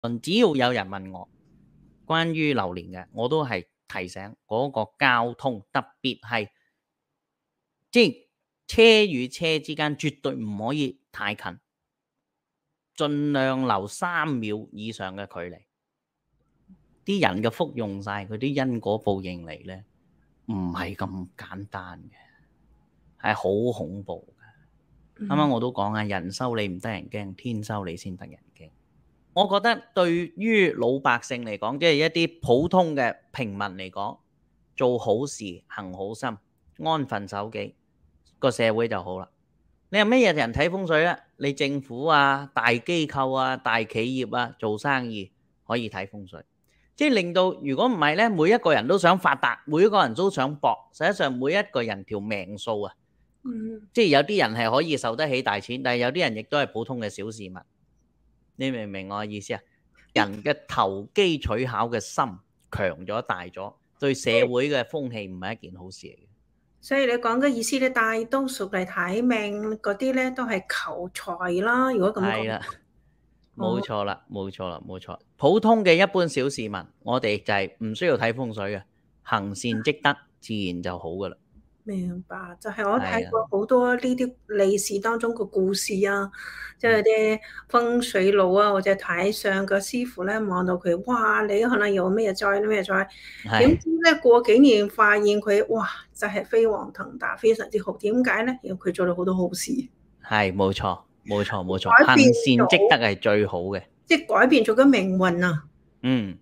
只要有人問我關於榴蓮嘅，我都係提醒嗰個交通，特別係即係車與車之間絕對唔可以太近，盡量留3秒以上嘅距離。啲人嘅福用晒，佢啲因果報應嚟呢，唔係咁簡單嘅，係好恐怖嘅。啱啱我都講啊，人收你唔得人驚，天收你先得人驚。我覺得對於老百姓嚟講，即係一啲普通嘅平民嚟講，做好事行好心，安分守己，個社會就好啦。你有咩人睇風水啊？你政府啊、大機構啊、大企業啊，做生意可以睇風水，即係令到如果唔係呢，每一個人都想發達，每一個人都想搏，實際上每一個人條命數啊，即係有啲人係可以受得起大錢，但係有啲人亦都係普通嘅小市民。你明唔明我嘅意思啊？人嘅投機取巧嘅心強咗大咗，對社會嘅風氣唔係一件好事嚟嘅。 所以你講嘅意思咧，大多數嚟睇命嗰啲咧，都係求財啦。如果咁講， 係啦，冇錯啦，冇錯啦，冇錯。普通嘅一般小市民，我哋就係唔需要睇風水嘅，行善積德，自然就好噶啦。 明白，就係我睇過好多呢啲歷史當中嘅故事啊，即係啲風水佬啊，或者睇相嘅師傅咧，望到佢，哇！你可能有咩災咩災，點知咧過幾年發現佢，哇！就係飛黃騰達，非常之好。點解咧？因為佢做咗好多好事。 係，冇錯，冇錯，冇錯，行善積德係最好嘅， 即係改變咗個命運啊！ 嗯。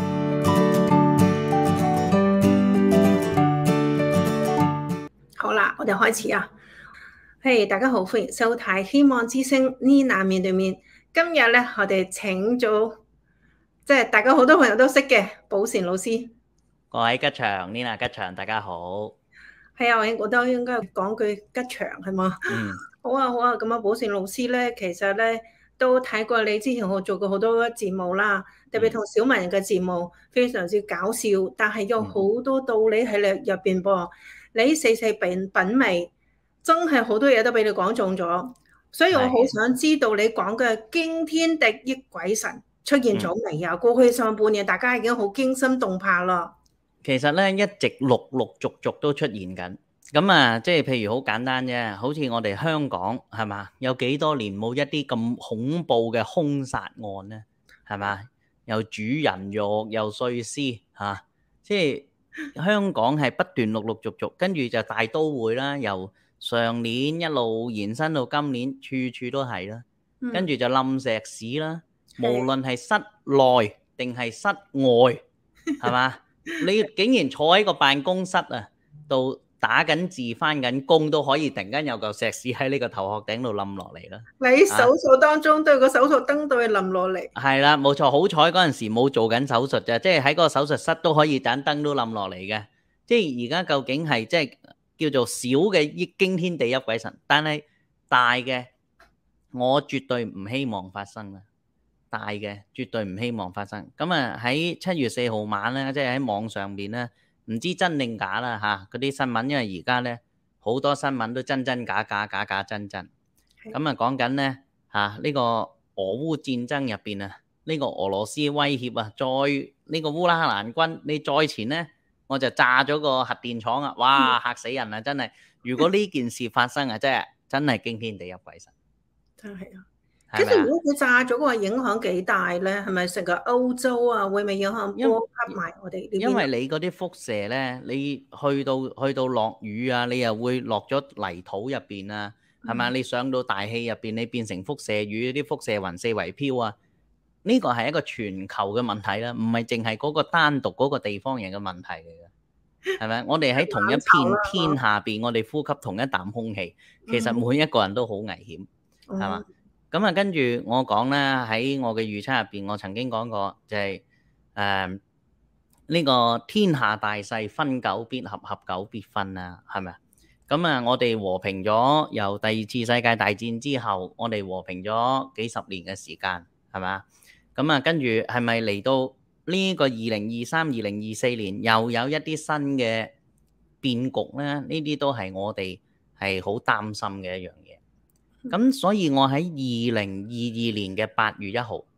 好啦，我哋開始啊！嘿，大家好，歡迎收睇《希望之聲》Nina 面對面。今日咧，我哋請咗即係大家好多朋友都識嘅寶善老師。 各位吉祥 Nina 吉祥，大家好。 係啊，我都應該講句吉祥係嘛？好啊，好啊。咁啊，寶善老師咧，其實咧都睇過你之前我做過好多節目啦，特別同小文人嘅節目非常之搞笑，但係有好多道理喺你入邊噃。你細細品味，真係好多嘢都俾你講中咗，所以我好想知道你講嘅驚天地泣鬼神出現咗未啊？過去上半年大家已經好驚心動魄啦。 其實咧一直陸陸續續都出現緊，咁啊，即係譬如好簡單啫，好似我哋香港係嘛，有幾多年冇一啲咁恐怖嘅兇殺案咧，係嘛？又煮人肉又碎屍嚇，即係香港係不斷陸陸續續，跟住就大都會啦，由上年一路延伸到今年，處處都係啦，跟住就冧石屎啦，無論係室內定係室外，係嘛？你竟然坐喺個辦公室啊，度打緊字、返緊工都可以，突然間有嚿石屎喺呢個頭殼頂度冧落嚟啦！ 你手術當中都有個手術燈對冧落嚟。 係啦，冇錯，好彩嗰陣時冇做緊手術啫，即係喺嗰個手術室都可以盞燈都冧落嚟嘅。即係而家究竟係即係叫做小嘅驚天地泣鬼神，但係大嘅我絕對唔希望發生啦。大嘅絕對唔希望發生。咁啊喺7月4號晚咧，即係喺網上邊咧，唔知真定假啦嚇嗰啲新聞，因為而家咧好多新聞都真真假假，假假真真。咁啊講緊咧嚇呢個俄烏戰爭入邊啊，呢個俄羅斯威脅啊，再呢個烏克蘭軍你再前咧，我就炸咗個核電廠啊！哇，嚇死人啊！真係，如果呢件事發生啊，真係驚天地泣鬼神。 真係啊！其實如果佢炸咗嘅話，影響幾大咧？係咪成個歐洲啊，會唔會影響波及埋我哋呢邊？ 因為你嗰啲輻射咧，你去到落雨啊，你又會落咗泥土入邊啊，係咪？你上到大氣入邊，你變成輻射雨，啲輻射雲四圍飄啊！呢個係一個全球嘅問題啦，唔係淨係嗰個單獨嗰個地方人嘅問題嚟嘅，係咪？我哋喺同一片天下邊，我哋呼吸同一啖空氣，其實每一個人都好危險，係嘛？咁啊，跟住我講啦，喺我嘅預測入邊，我曾經講過就係呢個天下大勢，分久必合，合久必分啊，係咪啊？咁啊，我哋和平咗，由第二次世界大戰之後，我哋和平咗幾十年嘅時間，係咪啊？咁啊，跟住係咪嚟到呢個2023、2024年又有一啲新嘅變局咧？呢啲都係我哋係好擔心嘅一樣嘢。咁所以我喺2022年嘅8月1號，喺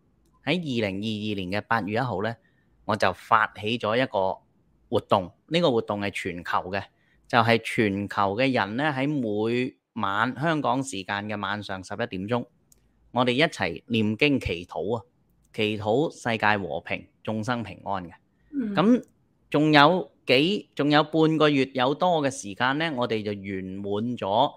喺2022年嘅8月1號咧，我就發起咗一個活動，呢個活動係全球嘅，就係全球嘅人咧喺每晚香港時間嘅晚上11點鐘，我哋一齊念經祈禱啊，祈禱世界和平、眾生平安嘅。咁仲有半個月有多嘅時間咧，我哋就圓滿咗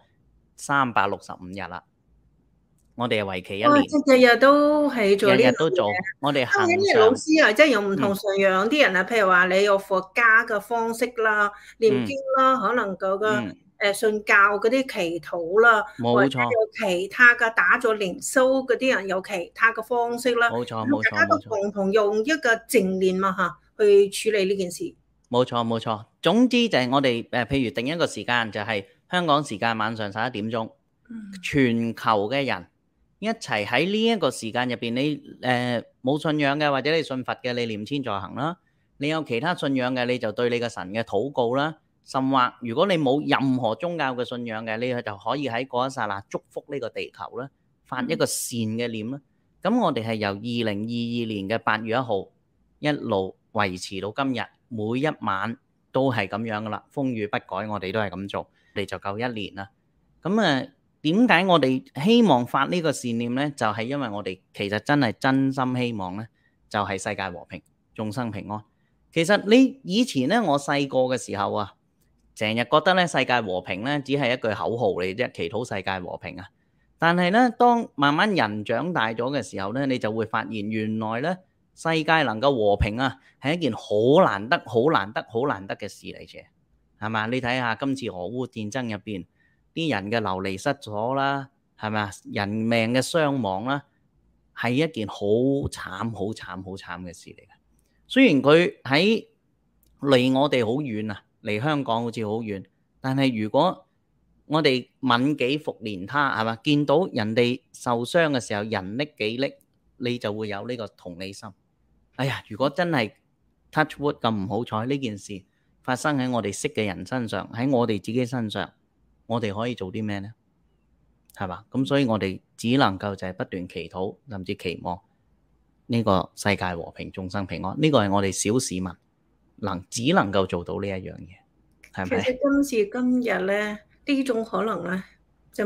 365日啦。我哋係為期1年， 日日都係做呢樣嘢， 日日都做。我哋行上老師啊，即係有唔同信仰啲人啊，譬如話你有佛家嘅方式啦、念經啦，可能嗰個信教嗰啲祈禱啦，或者有其他嘅打咗靈修嗰啲人有其他嘅方式啦。 冇錯， 大家都共同用一個正念嘛嚇去處理呢件事。冇錯。總之就係我哋譬如定一個時間，就係香港時間晚上11點鐘，全球嘅人一齊喺呢一個時間入邊，你冇信仰嘅或者你信佛嘅，你念千在行啦；你有其他信仰嘅，你就對你個神嘅禱告啦。甚或如果你冇任何宗教嘅信仰嘅，你就可以喺嗰一剎那祝福呢個地球啦，發一個善嘅念啦。咁我哋係由2022年嘅8月1號一路維持到今日，每一晚都係咁樣噶啦，風雨不改，我哋都係咁做，我哋就夠1年啦。咁點解我哋希望發呢個善念呢？就係因為我哋其實真係真心希望呢，就係世界和平、眾生平安。其實你以前呢，我細個嘅時候啊，成日覺得咧世界和平咧只係一句口號嚟啫，祈禱世界和平啊。但係咧，當慢慢人長大咗嘅時候咧，你就會發現原來咧世界能夠和平啊，係一件好難得嘅事嚟嘅，係嘛？你睇下今次俄烏戰爭入邊啲人嘅流離失所啦，係咪啊？人命嘅傷亡啦，係一件好慘嘅事嚟嘅。雖然佢喺離我哋好遠啊。離香港好似好遠，但係如果我哋憫己復憐他，係嘛？見到人哋受傷嘅時候，人溺己溺，你就會有呢個同理心。哎呀，如果真係 touch wood 咁唔好彩，呢件事發生喺我哋識嘅人身上，喺我哋自己身上，我哋可以做啲咩呢？係嘛？咁所以我哋只能夠就係不斷祈禱，甚至期望呢個世界和平、眾生平安。呢個係我哋小市民只能夠做到呢一樣嘢，係咪？ 其實今時今日咧，呢種可能咧就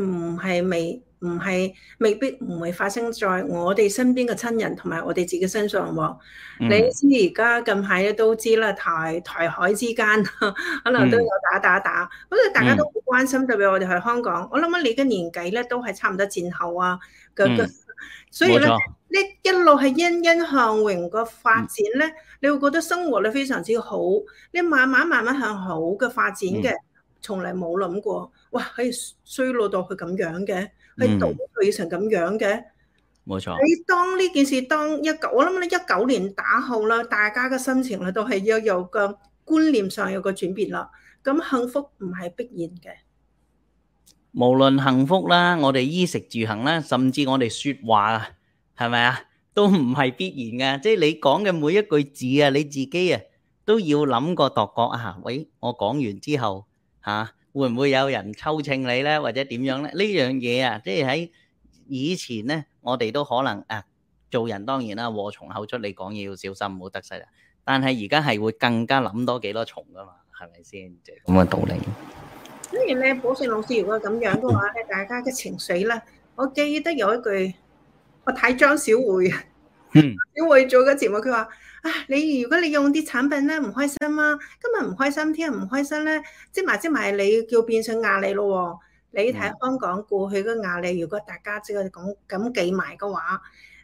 未必唔會發生在我哋身邊嘅親人同埋我哋自己身上喎。你知而家近排咧都知啦，台海之間可能都有打，不過大家都好關心，特別我哋喺香港。我諗你嘅年紀咧都係差唔多戰後啊所以咧呢一路係欣欣向榮個發展咧，你會覺得生活咧非常之好，你慢慢向好嘅發展嘅，從嚟冇諗過，哇可以衰落到佢咁樣嘅，係倒退成咁樣嘅。 冇錯。 你當呢件事我諗你19年打後啦，大家嘅心情咧都係要有個觀念上有個轉變啦。咁幸福唔係必然嘅。 無論幸福啦，我哋衣食住行啦，甚至我哋說話啊，係咪啊，都唔係必然嘅。即係你講嘅每一句字啊，你自己啊都要諗過度過啊。喂，我講完之後會唔會有人抽秤你咧，或者點樣咧？呢樣嘢啊，即係喺以前咧，我哋都可能做人當然啦，禍從口出，你講嘢要小心，唔好得勢啦。但係而家係會更加諗多幾多重噶嘛，係咪先？即係咁嘅道理。 當然咧，寶善老師如果咁樣嘅話咧，大家嘅情緒咧，我記得有一句，我睇張小慧，小慧做嘅節目，佢話如果你用啲產品咧唔開心啊，今日唔開心，聽日唔開心咧，積埋你叫變成壓力咯。你睇香港過去嘅壓力，如果大家即係咁記埋嘅話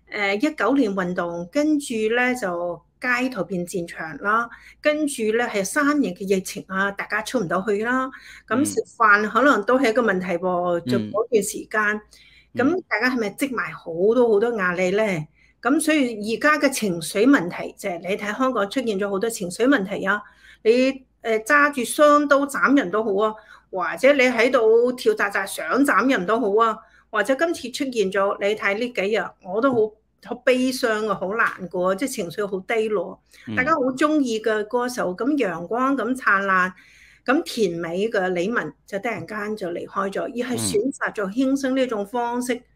，19年運動，跟住咧就街頭變戰場啦，跟住咧係3年嘅疫情啊，大家出唔到去啦，咁食飯可能都係一個問題喎，就嗰段時間，咁大家係咪積埋好多壓力咧？咁所以而家嘅情緒問題就係你睇香港出現咗好多情緒問題啊，你揸住雙刀斬人都好啊，或者你喺度跳紮想斬人都好啊，或者今次出現咗，你睇呢幾日我都好悲傷啊，好難過，即係情緒好低落。大家好中意嘅歌手咁陽光咁燦爛咁甜美嘅李玟就突然間就離開咗，而係選擇咗輕生呢種方式。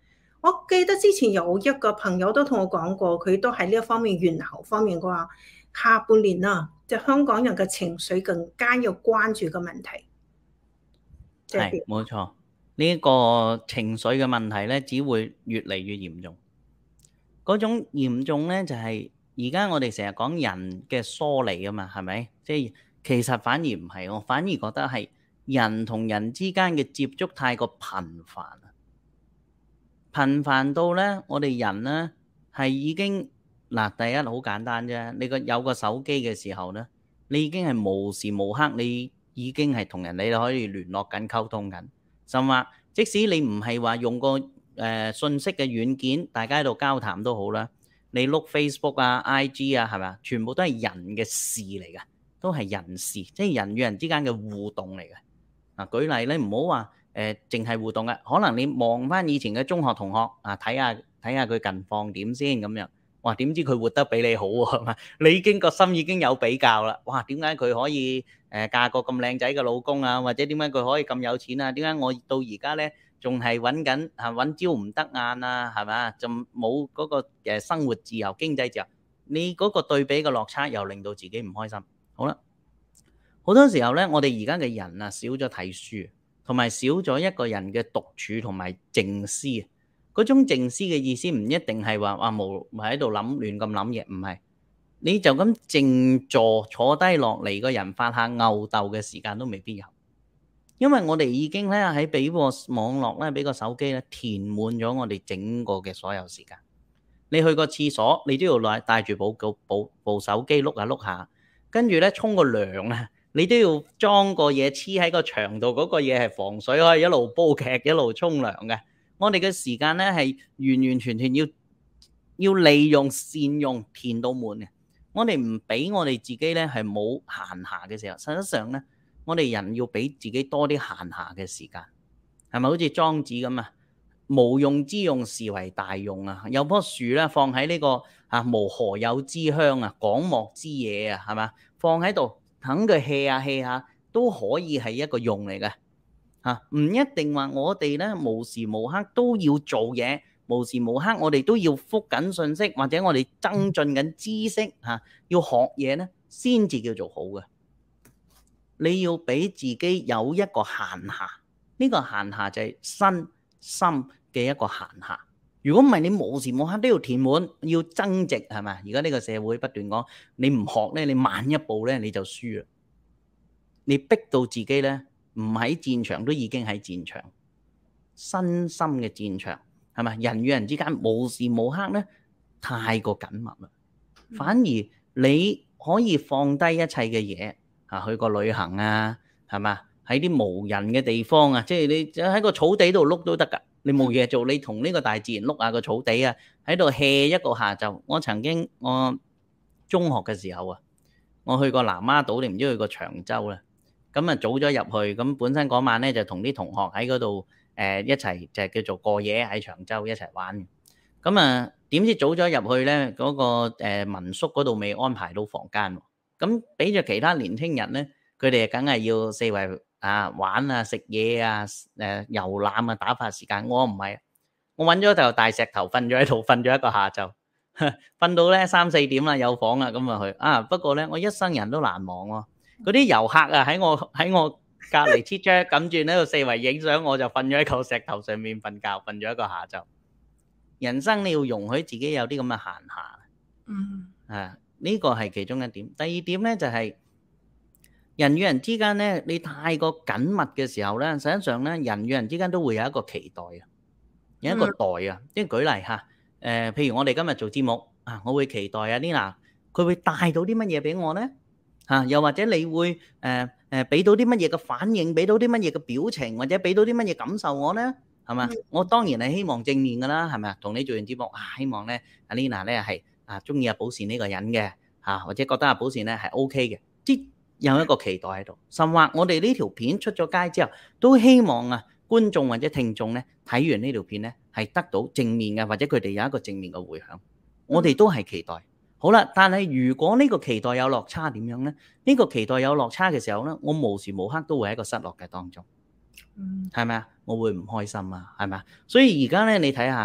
我記得之前有一個朋友都同我講過，佢都喺呢一方面猿猴方面嘅話，下半年啊，就香港人嘅情緒更加要關注嘅問題。 係冇錯，呢個情緒嘅問題咧，只會越嚟越嚴重。嗰種嚴重咧，就係而家我哋成日講人嘅疏離啊嘛，係咪？即係其實反而唔係，我反而覺得係人同人之間嘅接觸太過頻繁啊，頻繁到咧，我哋人咧係已經嗱，第一好簡單啫，你有個手機嘅時候咧，你已經係無時無刻你已經係同人哋可以聯絡緊、溝通緊，甚至即使你唔係話用個信息嘅軟件，大家喺度交談都好啦。你碌 Facebook 啊、IG 啊，係咪啊？全部都係人嘅事嚟嘅，都係人事，即係人與人之間嘅互動嚟嘅。嗱，舉例咧，唔好話淨係互動嘅，可能你望翻以前嘅中學同學啊，睇下佢近況點先咁樣。哇！點知佢活得比你好喎，係嘛？你已經個心已經有比較啦。哇！點解佢可以嫁個咁靚仔嘅老公啊？或者點解佢可以咁有錢啊？點解我到而家咧仲係揾緊揾朝唔得晏啊？係咪？就冇嗰個生活自由、經濟自由。你嗰個對比嘅落差又令到自己唔開心。好啦，好多時候咧，我哋而家嘅人啊，少咗睇書，同埋少咗一個人嘅獨處同埋靜思。嗰種靜思嘅意思唔一定係話無喺度亂咁諗嘢，唔係，你就咁靜坐低落嚟，個人發下吽哣嘅時間都未必有，因為我哋已經咧喺俾個網絡咧，俾個手機咧填滿咗我哋整個嘅所有時間。你去個廁所，你都要帶住部手機碌下碌下，跟住咧沖個涼啊，你都要裝個嘢黐喺個牆度，嗰個嘢係防水，可以一路煲劇一路沖涼嘅。我哋嘅時間咧係完完全全要利用善用，填到滿嘅。我哋唔俾我哋自己咧係冇閒暇嘅時候，實際上咧我哋人要俾自己多啲閒暇嘅時間，係咪好似莊子咁啊？無用之用是為大用啊！有棵樹咧放喺呢個無何有之鄉啊，廣漠之野啊，係嘛？放喺度等佢 hea 下 hea 下都可以係一個用嚟嘅。唔一定話我哋咧無時無刻都要做嘢，無時無刻我哋都要覆緊信息，或者我哋增進緊知識要學嘢咧，先至叫做好嘅。你要俾自己有一個閒暇，呢個閒暇就係身心嘅一個閒暇。如果唔係，你無時無刻都要填滿，要增值，係咪？而家呢個社會不斷講，你唔學咧，你慢一步咧你就輸啦。你逼到自己咧，唔喺戰場都已經喺戰場，身心嘅戰場，係咪？人與人之間無時無刻咧太過緊密啦，反而你可以放低一切嘅嘢去個旅行啊，係嘛？喺啲無人嘅地方啊，即係你喺個草地度碌都得㗎。你冇嘢做，你同呢個大自然碌下個草地啊，喺度 hea 一個下晝。我曾經我中學嘅時候啊，我去過南丫島，你唔知去過長洲啦。咁啊早咗入去，咁本身嗰晚咧就同啲同學喺嗰度一齊就叫做過夜喺長洲一齊玩。咁啊點知早咗入去咧，嗰個民宿嗰度未安排到房間，咁俾咗其他年輕人咧，佢哋梗係要四圍玩啊、食嘢啊、遊覽啊、打發時間。我唔係，我揾咗嚿大石頭瞓咗喺度，瞓咗一個下晝，瞓到咧3、4點啦，有房啦，咁啊去不過咧，我一生人都難忘喎。嗰啲遊客啊喺我隔離黐張，咁轉喺度四圍影相，我就瞓咗喺嚿石頭上面瞓覺，瞓咗一個下晝。人生你要容許自己有啲咁嘅閒暇，呢個係其中一點。第二點咧就係人與人之間咧，你太過緊密嘅時候咧，實際上咧人與人之間都會有一個期待啊，有一個待啊。即係舉例譬如我哋今日做節目我會期待Nina 佢會帶到啲乜嘢俾我咧？又或者你會俾到啲乜嘢嘅反應，俾到啲乜嘢嘅表情，或者俾到啲乜嘢感受我咧？係嘛？我當然係希望正面噶啦，係咪啊？同你做完節目希望咧Nina 咧係中意寶善呢個人嘅或者覺得寶善咧係 OK 嘅，即有一個期待喺度。甚或我哋呢條片出咗街之後，都希望觀眾或者聽眾咧睇完呢條片咧係得到正面嘅，或者佢哋有一個正面嘅迴響。我哋都係期待。好啦，但係如果呢個期待有落差點樣咧？呢個期待有落差嘅時候咧，我無時無刻都會喺一個失落嘅當中，係咪啊？我會唔開心啊，係咪啊？所以而家咧，你睇下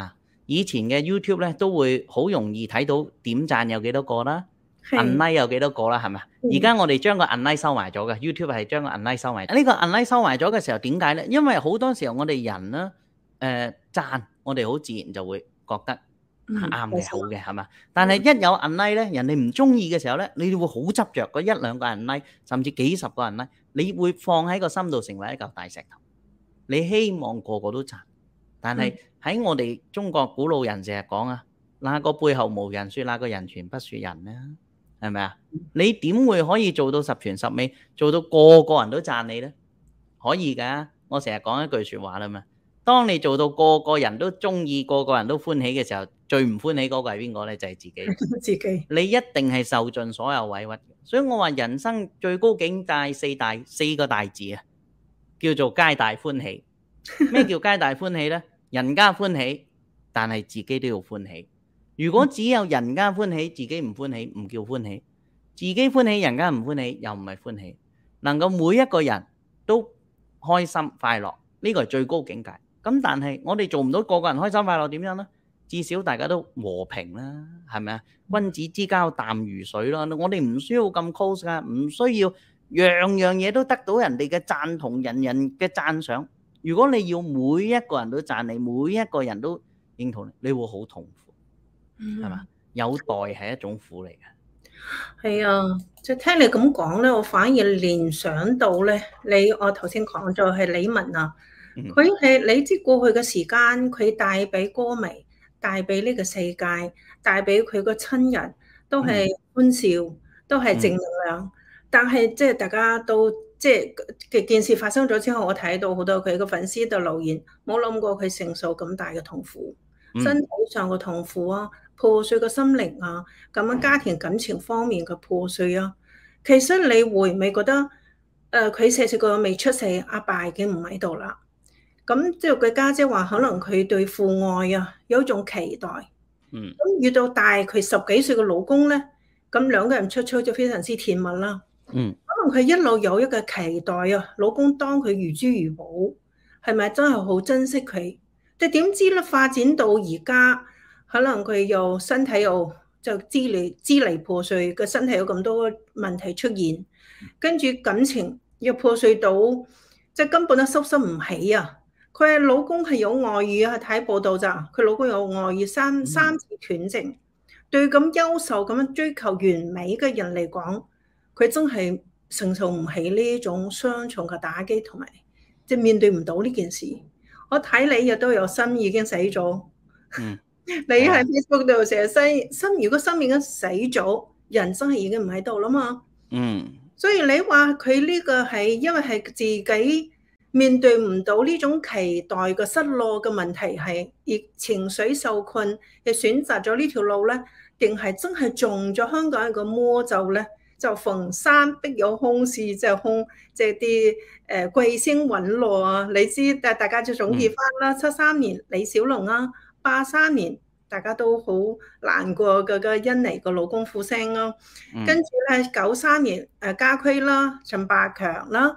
以前嘅 YouTube 咧都會好容易睇到點讚有幾多個啦，unlike 有幾多個啦，係咪？而家我哋將個 unlike 收埋咗嘅 YouTube 係將個 unlike 收埋。呢個 unlike 收埋咗嘅時候點解咧？因為好多時候我哋人咧讚，我哋好自然就會覺得啱嘅好嘅係嘛？但係一有 unlike 咧，人哋唔中意嘅時候咧，你會好執着嗰一兩個 unlike，甚至幾十個 unlike，你會放喺個心度成為一嚿大石頭。你希望個個都讚，但係喺我哋中國古老人成日講啊，那個背後無人說，那個人傳不說人咧，係咪啊？你點會可以做到十全十美，做到個個人都讚你咧？可以㗎，我成日講一句説話啦嘛。當你做到個個人都中意、個個人都歡喜嘅時候，最唔歡喜嗰個係邊個咧？就係自己。 自己。你一定係受盡所有委屈。所以我話人生最高境界四個大字啊，叫做皆大歡喜。咩叫皆大歡喜咧？人家歡喜，但係自己都要歡喜。如果只有人家歡喜，自己唔歡喜，唔叫歡喜；自己歡喜，人家唔歡喜，又唔係歡喜。能夠每一個人都開心快樂，呢個係最高境界。咁但係我哋做唔到個個人開心快樂，點樣呢？至少大家都和平啦，係咪啊？君子之交淡如水啦。我哋唔需要咁 close 噶，唔需要樣樣嘢都得到人哋嘅贊同，人人嘅讚賞。如果你要每一個人都讚你，每一個人都認同你，你會好痛苦，係嘛？有待係一種苦嚟嘅。 係啊，即係聽你咁講咧，我反而聯想到咧，我頭先講咗係李玟啊，佢係你知過去嘅時間，佢帶俾歌迷，帶俾呢個世界，帶俾佢個親人，都係歡笑，都係正能量。但係即係大家都即係嘅件事發生咗之後，我睇到好多佢個粉絲度留言，冇諗過佢承受咁大嘅痛苦，身體上嘅痛苦啊，破碎嘅心靈啊，咁樣家庭感情方面嘅破碎啊。其實你會唔會覺得佢細個未出世，阿爸已經唔喺度啦？咁即係佢家姐話，可能佢對父愛啊有一種期待。咁遇到大佢10幾歲嘅老公咧，咁兩個人出就非常之甜蜜啦。可能佢一路有一個期待啊，老公當佢如珠如寶，係咪真係好珍惜佢？但點知咧發展到而家，可能佢又身體又就支離破碎，個身體有咁多問題出現，跟住感情又破碎到，即係根本都收拾唔起啊！佢老公係有外遇啊，睇報道咋？佢老公有外遇三次斷症，對咁優秀咁樣追求完美嘅人嚟講，佢真係承受唔起呢種雙重嘅打擊，同埋即係面對唔到呢件事。我睇你亦都有心已經死咗，你喺 Facebook 度成日心，如果心已經死咗，人生係已經唔喺度啦嘛。所以你話佢呢個係因為係自己面對唔到呢種期待嘅失落嘅問題，係而情緒受困，亦選擇咗呢條路咧，定係真係中咗香港人嘅魔咒咧？就逢山必有凶事，即係啲貴星隕落啊！你知，但大家就總結翻啦。73年李小龍啊，83年大家都好難過嘅甄妮個老公傅聲咯。跟住咧93年家駒啦、陳百強啦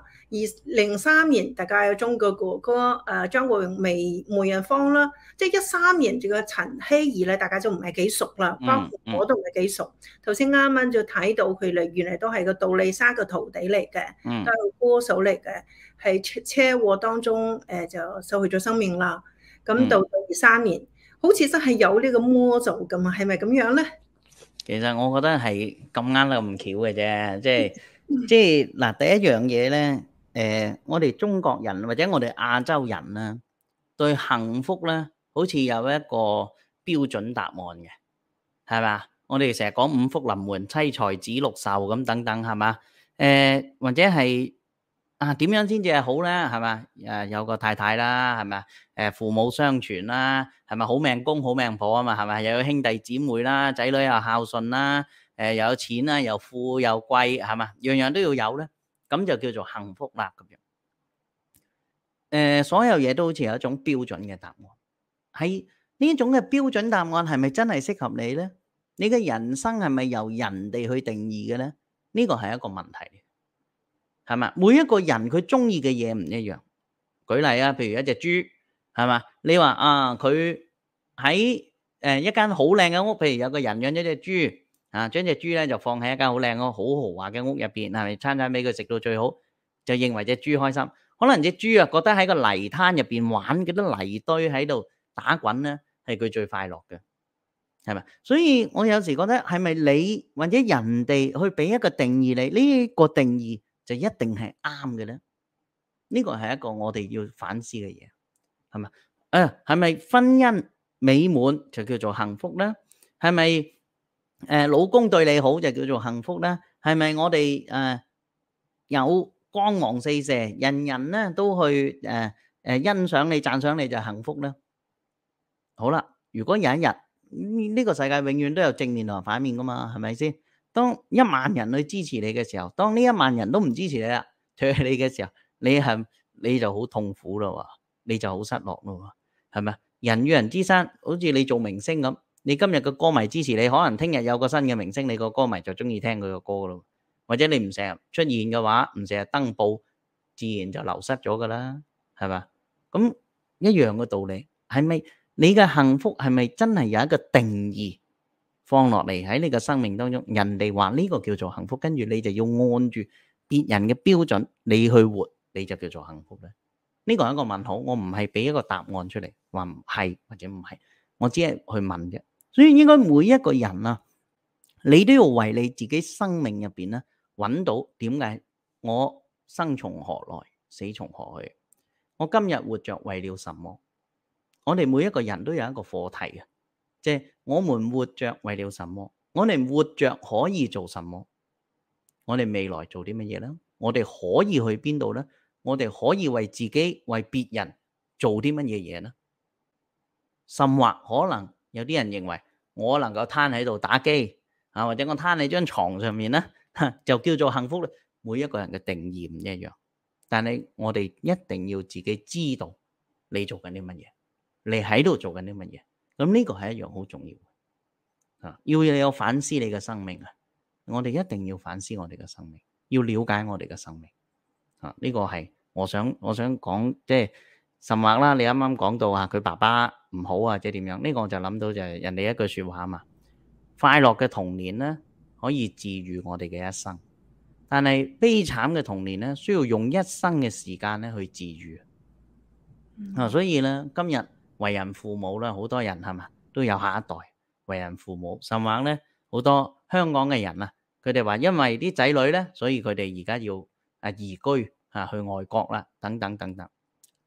，03年大家有中國哥哥張國榮梅艷芳啦，即係13年住個陳希怡咧，大家就唔係幾熟啦，包括我都唔係幾熟。頭先啱啱就睇到佢嚟，原來都係個杜麗莎嘅徒弟嚟嘅，都係歌手嚟嘅，係車禍當中就失去咗生命啦。咁到23年，好似真係有呢個魔咒咁啊，係咪咁樣咧？ 其實我覺得係咁啱得咁巧嘅啫，即係嗱，第一樣嘢咧，我哋中國人或者我哋亞洲人啦，對幸福咧，好似有一個標準答案嘅，係嘛？我哋成日講五福臨門、妻財子祿壽咁等等，係嘛？或者係點樣先至係好咧？係嘛？有個太太啦，係咪？父母雙全啦，係咪？好命公好命婆啊嘛，係咪？又有兄弟姊妹啦，仔女又孝順啦，又有錢啦，又富又貴，係嘛？樣樣都要有咧，咁就叫做幸福啦咁樣。所有嘢都好似有一種標準嘅答案，係呢種嘅標準答案係咪真係適合你咧？你嘅人生係咪由人哋去定義嘅咧？呢個係一個問題，係嘛？每一個人佢中意嘅嘢唔一樣。舉例啊，譬如一隻豬，係嘛？你話佢喺一間好靚嘅屋，譬如有個人養咗隻豬啊，將隻豬咧就放喺一間好靚好豪華嘅屋入邊，係咪餐餐俾佢食到最好，就認為隻豬開心。可能隻豬啊覺得喺個泥灘入邊玩嗰啲泥堆喺度打滾咧，係佢最快樂嘅，係咪？所以我有時覺得係咪你或者人哋去俾一個定義你，呢個定義就一定係啱嘅咧？呢個係一個我哋要反思嘅嘢，係咪？係咪婚姻美滿就叫做幸福咧？係咪老公對你好就叫做幸福咧？係咪我哋有光芒四射，人人咧都去欣賞你、讚賞你就幸福咧？好啦，如果有一日呢個世界永遠都有正面同反面噶嘛，係咪先？當1萬人去支持你嘅時候，當呢1萬人都唔支持你啦，唾棄你嘅時候，你就好痛苦咯，你就好失落咯，係咪？人與人之間，好似你做明星咁，你今日個歌迷支持你，可能聽日有個新嘅明星，你個歌迷就中意聽佢個歌咯。或者你唔成日出現嘅話，唔成日登報，自然就流失咗噶啦，係嘛？咁一樣嘅道理，係咪你嘅幸福係咪真係有一個定義放落嚟喺你嘅生命當中？人哋話呢個叫做幸福，跟住你就要按住別人嘅標準你去活，你就叫做幸福咧？呢個係一個問號，我唔係俾一個答案出嚟，話唔係或者唔係，我只係去問啫。所以應該每一個人啊，你都要為你自己生命入邊咧揾到點解我生從何來，死從何去？我今日活着為了什麼？我哋每一個人都有一個課題嘅，即係我們活着為了什麼？我哋活着可以做什麼？我哋未來做啲乜嘢呢？我哋可以去邊度呢？我哋可以為自己、為別人做啲乜嘢嘢呢？甚或可能有啲人認為我能夠攤喺度打機啊，或者我攤喺張床上面呢，就叫做幸福咧。每一個人嘅定義唔一樣，但係我哋一定要自己知道你做緊啲乜嘢，你喺度做緊啲乜嘢。咁呢個係一樣好重要嘅，要你有反思你嘅生命啊！我哋一定要反思我哋嘅生命，要了解我哋嘅生命。呢個係我想講，即係甚或啦。你啱啱講到佢爸爸唔好啊，即係點樣？呢個我就諗到就係人哋一句説話啊嘛。快樂嘅童年咧，可以治癒我哋嘅一生，但係悲慘嘅童年咧，需要用一生嘅時間咧去治癒。所以咧，今日為人父母咧，好多人係嘛都有下一代為人父母，甚或咧好多香港嘅人啊，佢哋話因為啲仔女咧，所以佢哋而家要移居去外國啦，等等等等。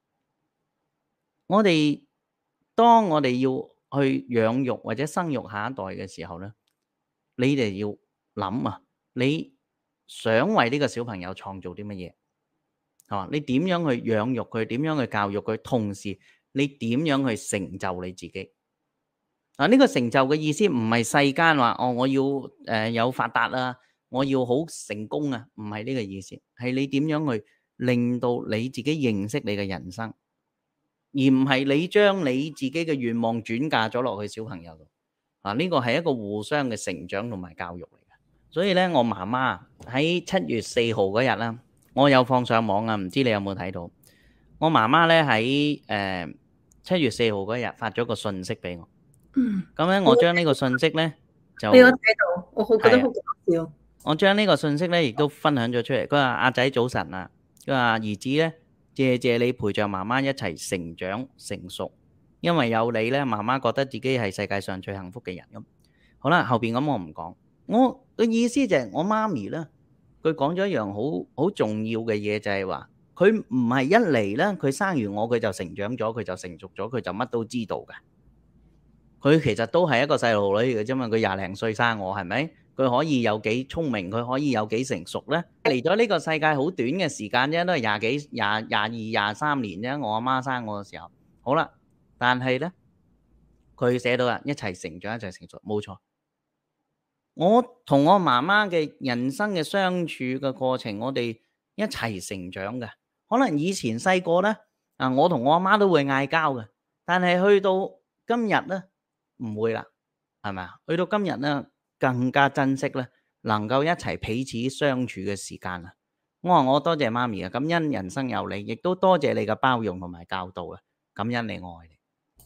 當我哋要去養育或者生育下一代嘅時候咧，你哋要諗啊，你想為呢個小朋友創造啲乜嘢？你點樣去養育佢？點樣去教育佢？同時你點樣去成就你自己？呢個成就嘅意思唔係世間話我要有發達啊，我要好成功啊，唔係呢個意思，係你點樣去令到你自己認識你嘅人生，而唔係你將你自己嘅願望轉嫁咗落去小朋友度。呢個係一個互相嘅成長同埋教育嚟嘅。所以咧，我媽媽喺7月4號嗰日啦，我有放上網啊，唔知你有冇睇到？我媽媽咧喺7月4號嗰日發咗個信息俾我。咁咧，我將呢個信息咧就俾我睇到，我好覺得好搞笑。 我將呢個信息咧亦都分享咗出嚟。佢話：阿仔早晨啊，佢話兒子咧，謝你陪着媽媽一齊成長成熟，因為有你咧，媽媽覺得自己係世界上最幸福嘅人咁。好啦，後邊咁我唔講。我嘅意思就係我媽咪咧，佢講咗一樣好重要嘅嘢，就係話佢唔係一嚟咧，佢生完我佢就成長咗，佢就成熟咗，佢就乜都知道嘅。佢其實都係一個細路女嚟嘅啫嘛，佢20零歲生我係咪？佢可以有幾聰明，佢可以有幾成熟咧？嚟咗呢個世界好短嘅時間啫，都係22、23年啫。我阿媽生我嘅時候，好啦，但係咧，佢寫到啦，一齊成長，一齊成熟，冇錯。我同我媽媽嘅人生嘅相處嘅過程，我哋一齊成長嘅。可能以前細個咧，我同我阿媽都會嗌交嘅，但係去到今日咧，唔會啦，係咪啊？去到今日咧，更加珍惜咧，能夠一齊彼此相處嘅時間啊！我話我多謝媽咪啊，感恩人生有你，亦都多謝你嘅包容同埋教導啊，感恩你愛你。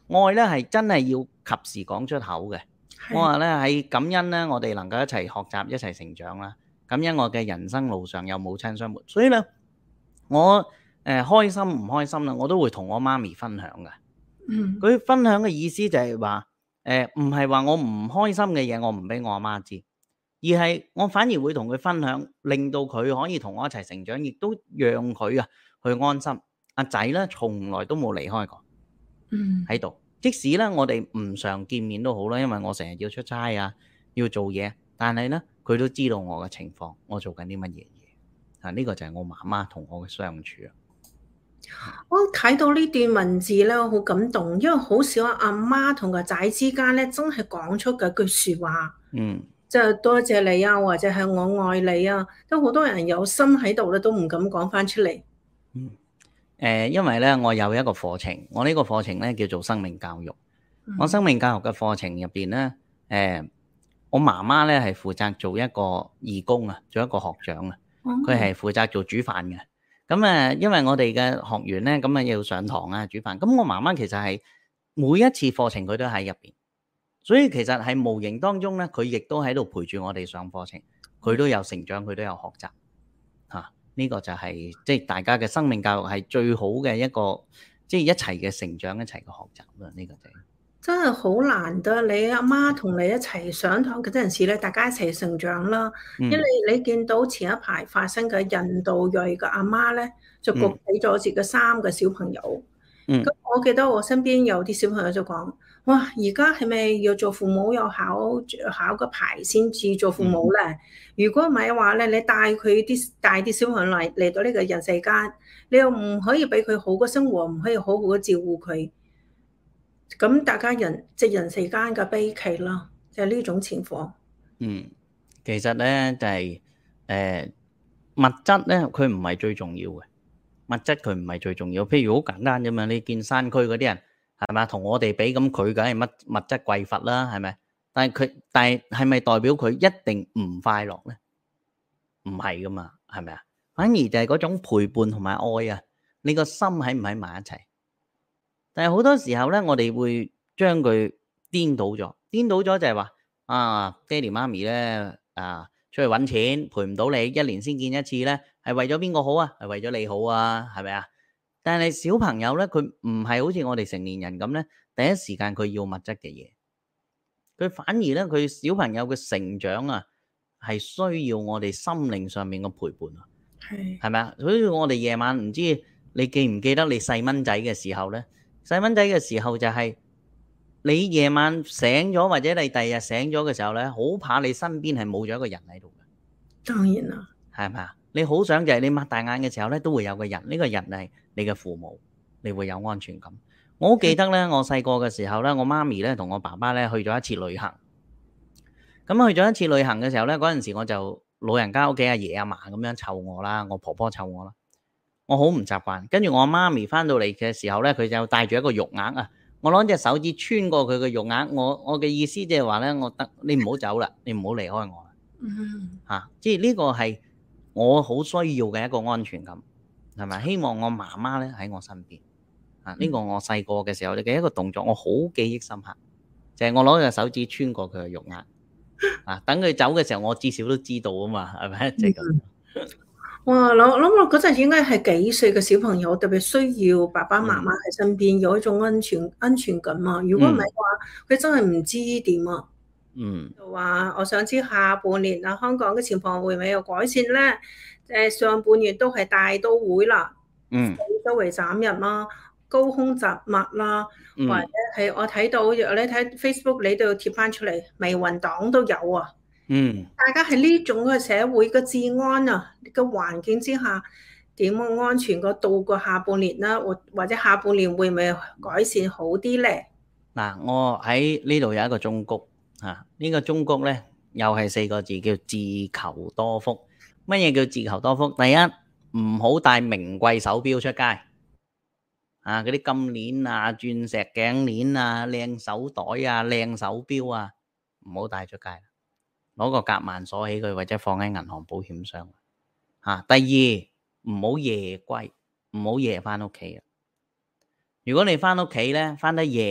愛咧係真係要及時講出口嘅。我話咧喺感恩咧，我哋能夠一齊學習、一齊成長啦。感恩我嘅人生路上有母親相伴，所以咧我開心唔開心啦，我都會同我媽咪分享嘅。佢分享嘅意思就係話唔係話我唔開心嘅嘢我唔俾我阿媽知，而係我反而會同佢分享，令到佢可以同我一齊成長，亦都讓佢去安心。阿仔咧從來都冇離開過喺度，即使咧我哋唔常見面都好啦，因為我成日要出差啊，要做嘢，但係咧佢都知道我嘅情況，我做緊啲乜嘢嘢。呢個就係我媽媽同我嘅相處啊。 我睇到呢段文字咧，我好感動，因為好少阿媽同個仔之間咧，真係講出嗰句説話。即係多謝你啊，或者係我愛你啊，都好多人有心喺度咧，都唔敢講翻出嚟。 因為咧，我有一個課程，我呢個課程咧叫做生命教育。我生命教育嘅課程入邊咧，我媽媽咧係負責做一個義工啊，做一個學長啊，佢係負責做煮飯嘅。咁因為我哋嘅學員咧，咁要上堂啊，煮飯。咁我媽媽其實係每一次課程佢都喺入邊，所以其實係無形當中咧，佢亦都喺度陪住我哋上課程，佢都有成長，佢都有學習嚇。呢個就係即係大家嘅生命教育係最好嘅一個，即係一齊嘅成長，一齊嘅學習啦。呢個就真係好難得，你阿媽同你一齊上堂嗰陣時咧，大家一齊成長啦。因為你見到前一排發生嘅印度裔嘅阿媽咧，就焗死咗自己3個小朋友。咁我記得我身邊有啲小朋友就講：哇，而家係咪要做父母要考個牌先至做父母咧？如果唔係嘅話咧，你帶啲小朋友嚟到呢個人世間，你又唔可以俾佢好嘅生活，唔可以好好嘅照顧佢。咁大家即人世間嘅悲劇啦，就係呢種情況。 其實咧就係物質咧，佢唔係最重要嘅。物質佢唔係最重要，譬如好簡單啫嘛。你見山區嗰啲人係咪同我哋比，咁佢梗係物質匱乏啦，係咪？但係係咪代表佢一定唔快樂咧？唔係噶嘛，係咪啊？反而就係嗰種陪伴同埋愛啊，你個心喺唔喺埋一齊？但係好多時候咧，我哋會將佢顛倒咗就係話爹哋媽咪咧出去揾錢陪唔到你，1年先見一次咧，係為咗邊個好啊？係為咗你好啊？係咪啊？但係小朋友咧，佢唔係好似我哋成年人咁咧，第一時間佢要物質嘅嘢，佢反而咧佢小朋友嘅成長啊，係需要我哋心靈上面嘅陪伴啊，係咪啊？所以我哋夜晚唔知你記唔記得你細蚊仔嘅時候咧？細蚊仔嘅時候就係你夜晚醒咗，或者你第二日醒咗嘅時候咧，好怕你身邊係冇咗一個人喺度嘅。 當然啦， 係咪啊？你好想就係你擘大眼嘅時候咧，都會有個人，呢個人係你嘅父母，你會有安全感。我好記得咧，我細個嘅時候咧，我媽咪咧同我爸爸咧去咗一次旅行。咁去咗一次旅行嘅時候咧，嗰陣時我就老人家屋企阿爺阿嫲咁樣湊我啦，我婆婆湊我啦。我好唔習慣，跟住我媽咪翻到嚟嘅時候咧，佢就帶住一個肉鴨啊。我攞隻手指穿過佢嘅肉鴨，我嘅意思即係話咧，你唔好走啦，你唔好離開我啦。即係呢個係我好需要嘅一個安全感，係咪？希望我媽媽咧喺我身邊。呢個我細個嘅時候嘅一個動作，我好記憶深刻，就係我攞隻手指穿過佢嘅肉鴨。等佢走嘅時候，我至少都知道啊嘛，係咪？即係咁。 哇！諗我嗰陣應該係幾歲嘅小朋友，特別需要爸爸媽媽喺身邊，有一種安全感啊！如果唔係嘅話，佢真係唔知點啊。就話我想知下半年香港嘅情況會唔會有改善咧？上半年都係大都會啦，周圍斬人啦，高空雜物啦，或者係我睇到你睇 Facebook 你都要貼翻出嚟，微雲黨都有啊。大家喺呢種嘅社會嘅治安嘅環境之下，點樣安全過度過下半年啦？或者下半年會唔會改善好啲咧？ 嗱，我喺呢度有一個忠告呢個忠告咧又係4個字，叫自求多福。乜嘢叫自求多福？第一，唔好帶名貴手錶出街嗰啲金鏈啊、鑽石頸鏈啊、靚手袋啊、靚手錶啊，唔好帶出街。攞個夾萬鎖起佢，或者放喺銀行保險箱。第二，唔好夜歸，唔好夜翻屋企。如果你翻屋企咧，翻得夜，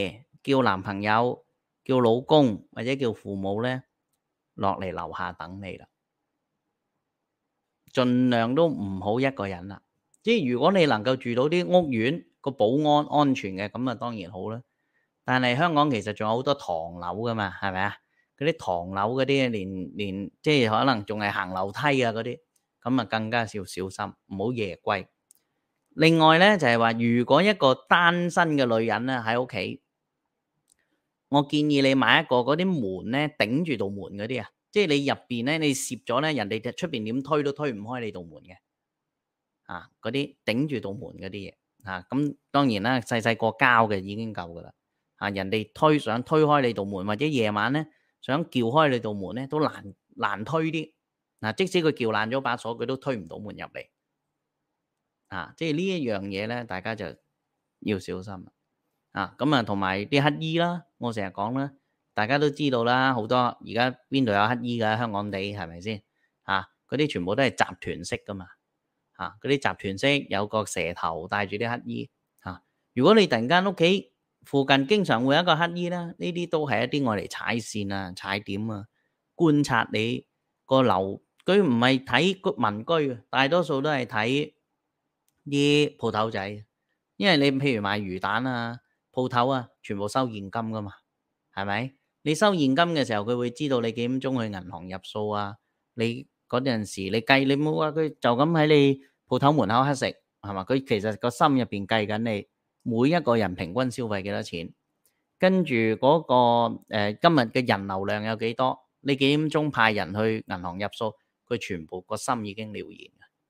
叫男朋友、叫老公或者叫父母咧落嚟樓下等你啦，盡量都唔好一個人啦。即係如果你能夠住到啲屋苑個保安安全嘅，咁啊當然好啦。但係香港其實仲有好多唐樓噶嘛，係咪啊？嗰啲唐樓嗰啲連即係可能仲係行樓梯啊嗰啲，咁啊更加要小心，唔好夜歸。另外咧就係話，如果一個單身嘅女人咧喺屋企，我建議你買一個嗰啲門咧頂住道門嗰啲啊，即係你入邊咧你攝咗咧，人哋出邊點推都推唔開你道門嘅啊，嗰啲頂住道門嗰啲嘢啊，咁當然啦，細細個膠嘅已經夠噶啦啊，人哋想推開你道門，或者夜晚咧想撬開你道門咧都難推啲嗱，即使佢撬爛咗把鎖，佢都推唔到門入嚟。啊，即係呢一樣嘢咧，大家就要小心啊！咁啊，同埋啲乞衣啦，我成日講啦，大家都知道啦，好多而家邊度有乞衣㗎？香港地係咪先？啊，嗰啲全部都係集團式㗎嘛，啊，嗰啲集團式有個蛇頭帶住啲乞衣啊。如果你突然間屋企附近經常會有一個乞衣啦，呢啲都係一啲愛嚟踩線啊、踩點啊，觀察你個樓，佢唔係睇民居，大多數都係睇啲鋪頭仔，因為你譬如賣魚蛋啊，鋪頭啊，全部收現金噶嘛，係咪？你收現金嘅時候，佢會知道你幾點鐘去銀行入數啊。你嗰陣時你計，你冇話佢就咁喺你鋪頭門口乞食，係嘛？佢其實個心入邊計緊你每一個人平均消費幾多錢，跟住嗰個今日嘅人流量有幾多，你幾點鐘派人去銀行入數，佢全部個心已經了然。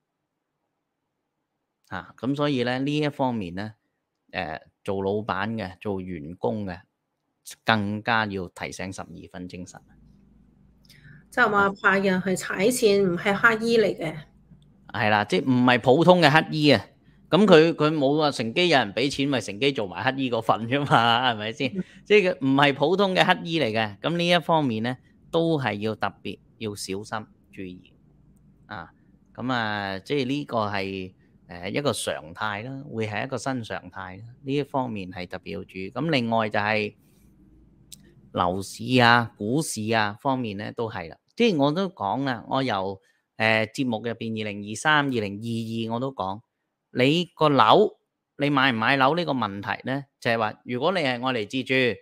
啊，咁所以咧呢一方面咧，做老闆嘅、做員工嘅，更加要提醒12分精神。 就係話派人去踩線，唔係乞衣嚟嘅。 係啦，即係唔係普通嘅乞衣啊？咁佢冇話乘機有人俾錢，咪乘機做埋乞衣嗰份啫嘛？係咪先？即係佢唔係普通嘅乞衣嚟嘅。咁呢一方面咧，都係要特別要小心注意啊。咁啊，即係呢個係一個常態啦，會係一個新常態啦。呢一方面係特別要注意。咁另外就係樓市啊、股市啊方面咧都係啦。即係我都講啦，我由節目入邊2023、2022我都講，你個樓你買唔買樓呢個問題咧，就係話如果你係愛嚟自住，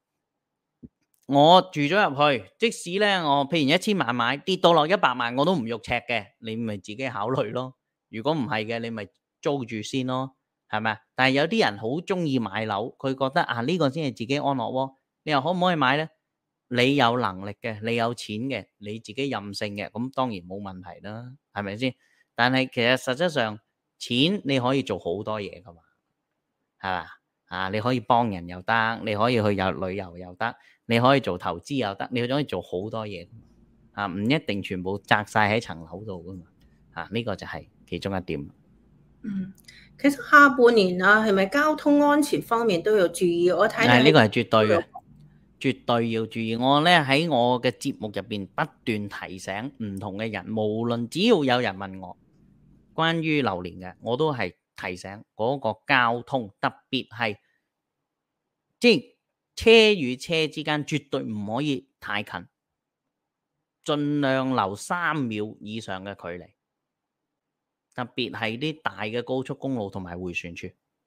我住咗入去，即使咧我譬如1000萬買，跌到落100萬我都唔肉赤嘅，你咪自己考慮咯。如果唔係嘅，你咪租住先咯，係咪啊？但係有啲人好中意買樓，佢覺得啊呢個先係自己安樂窩，你又可唔可以買咧？你有能力嘅，你有錢嘅，你自己任性嘅，咁當然冇問題啦，係咪先？但係其實實質上錢你可以做好多嘢噶嘛，係嘛？啊，你可以幫人又得，你可以去旅遊又得，你可以做投資又得，你可以做好多嘢啊，唔一定全部擲晒喺層樓度噶嘛。啊，呢個就係其中一點。 其實下半年啊，係咪交通安全方面都要注意？我睇呢個係絕對嘅。絕對要注意，我咧喺我嘅節目入邊不斷提醒唔同嘅人，無論只要有人問我關於流年嘅，我都係提醒嗰個交通，特別係即係車與車之間絕對唔可以太近，盡量留3秒以上嘅距離，特別係啲大嘅高速公路同埋迴旋處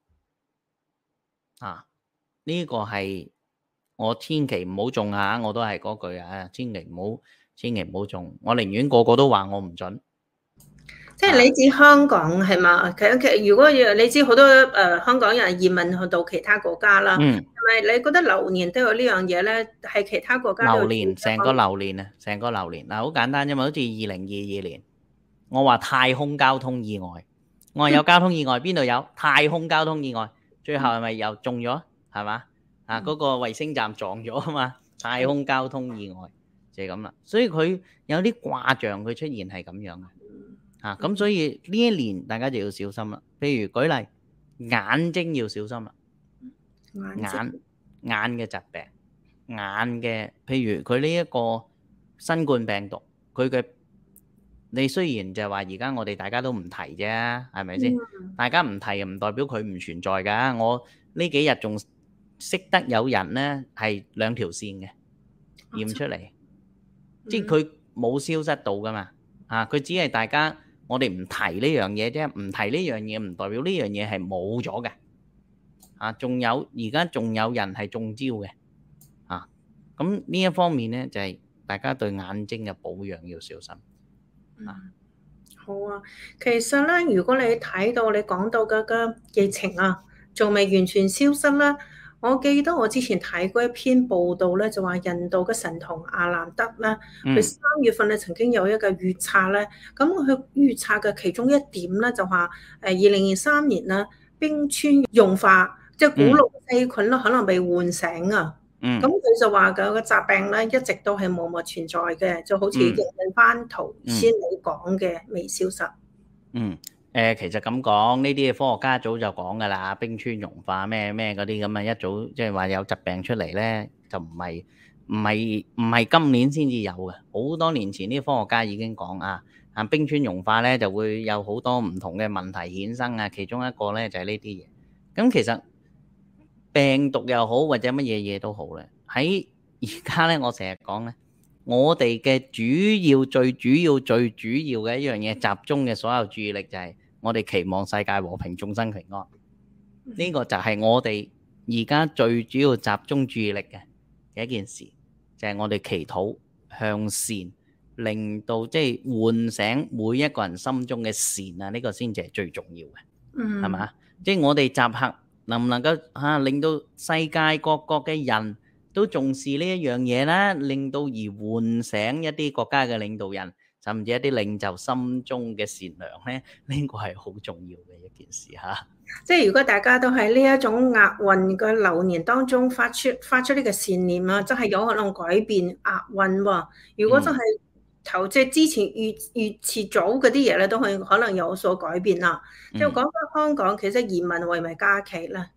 啊，呢個係。我千祈唔好中下，我都係嗰句啊，千祈唔好中，我寧願個個都話我唔準。 即係你指香港係嘛？其實如果你知好多香港人移民去到其他國家啦，係咪你覺得流年都有呢樣嘢咧？係其他國家流年成個流年啊，成個流年嗱，好簡單啫嘛，好似2022年，我話太空交通意外，我話有交通意外，邊度有太空交通意外？最後係咪又中咗？係嘛？啊！嗰個衛星站撞咗啊嘛，太空交通意外就係咁啦，所以佢有啲卦象佢出現係咁樣嘅，啊咁所以呢一年大家就要小心啦。譬如舉例，眼睛要小心啦，眼嘅疾病，眼嘅譬如佢呢一個新冠病毒，佢嘅你雖然就係話而家我哋大家都唔提啫，係咪先？大家唔提唔代表佢唔存在㗎。我呢幾日仲識得有人咧係兩條線嘅驗出嚟，即係佢冇消失到噶嘛，佢只係大家我哋唔提呢樣嘢啫，唔提呢樣嘢唔代表呢樣嘢係冇咗嘅，仲有而家仲有人係中招嘅，咁呢一方面咧就係大家對眼睛嘅保養要小心。 好啊，其實咧，如果你睇到你講到嘅疫情啊，仲未完全消失啦。我記得我之前睇過一篇報道咧，就話印度嘅神童阿蘭德咧，佢3月份咧曾經有一個預測咧，咁佢預測嘅其中一點咧就話2023年咧冰川融化，即係古老細菌咧可能被喚醒啊。咁佢就話個疾病咧一直都係默默存在嘅，就好似認認翻頭先你講嘅未消失。 其實咁講，呢啲科學家早就講㗎啦，冰川融化咩嗰啲咁啊，一早即係話有疾病出嚟咧，就唔係今年先至有嘅，好多年前啲科學家已經講冰川融化咧就會有好多唔同嘅問題衍生啊，其中一個咧就係呢啲嘢。咁其實病毒又好或者乜嘢嘢都好咧，喺而家咧我成日講咧，我哋嘅最主要嘅一樣嘢，集中嘅所有注意力就係我哋期望世界和平，眾生平安。呢個就係我哋而家最主要集中注意力嘅一件事，就係我哋祈禱向善，令到即係喚醒每一個人心中嘅善啊！呢個先至係最重要嘅，係嘛？即係我哋集合能唔能夠令到世界各國嘅人都重視呢一樣嘢啦，令到而喚醒一啲國家嘅領導人，甚至一啲領袖心中嘅善良咧，呢個係好重要嘅一件事嚇。 即係如果大家都喺呢一種厄運嘅流年當中發出呢個善念啊，真係有可能改變厄運喎。如果真係即係之前預遲早嗰啲嘢咧，都可能有所改變啦。即係講翻香港，其實移民為咪假期咧？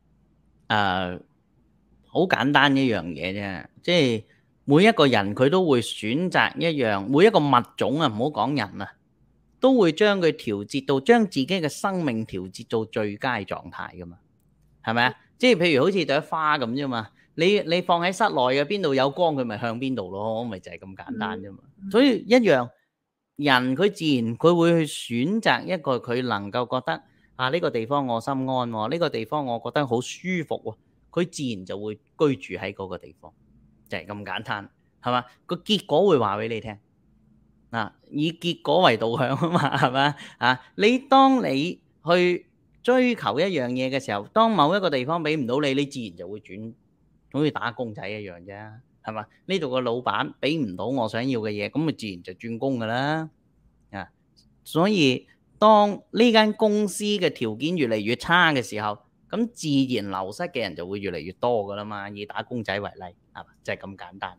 好簡單一樣嘢啫，即係每一個人佢都會選擇一樣，每一個物種啊，唔好講人啊，都會將佢調節到將自己嘅生命調節到最佳狀態噶嘛，係咪啊？即係譬如好似朵花咁啫嘛，你放喺室內嘅邊度有光，佢咪向邊度咯，咪就係咁簡單啫嘛。所以一樣，人佢自然佢會去選擇一個佢能夠覺得呢個地方我心安喎，呢個地方我覺得好舒服喎。佢自然就會居住喺嗰個地方，就係咁簡單，係嘛？個結果會話俾你聽，以結果為導向啊嘛，係咪？你當你去追求一樣嘢嘅時候，當某一個地方俾唔到你，你自然就會轉，好似打工仔一樣啫，係嘛？呢度個老闆俾唔到我想要嘅嘢，咁咪自然就轉工噶啦，所以當呢間公司嘅條件越嚟越差嘅時候，咁自然流失嘅人就會越嚟越多噶啦嘛，以打工仔為例，係嘛？就係咁簡單。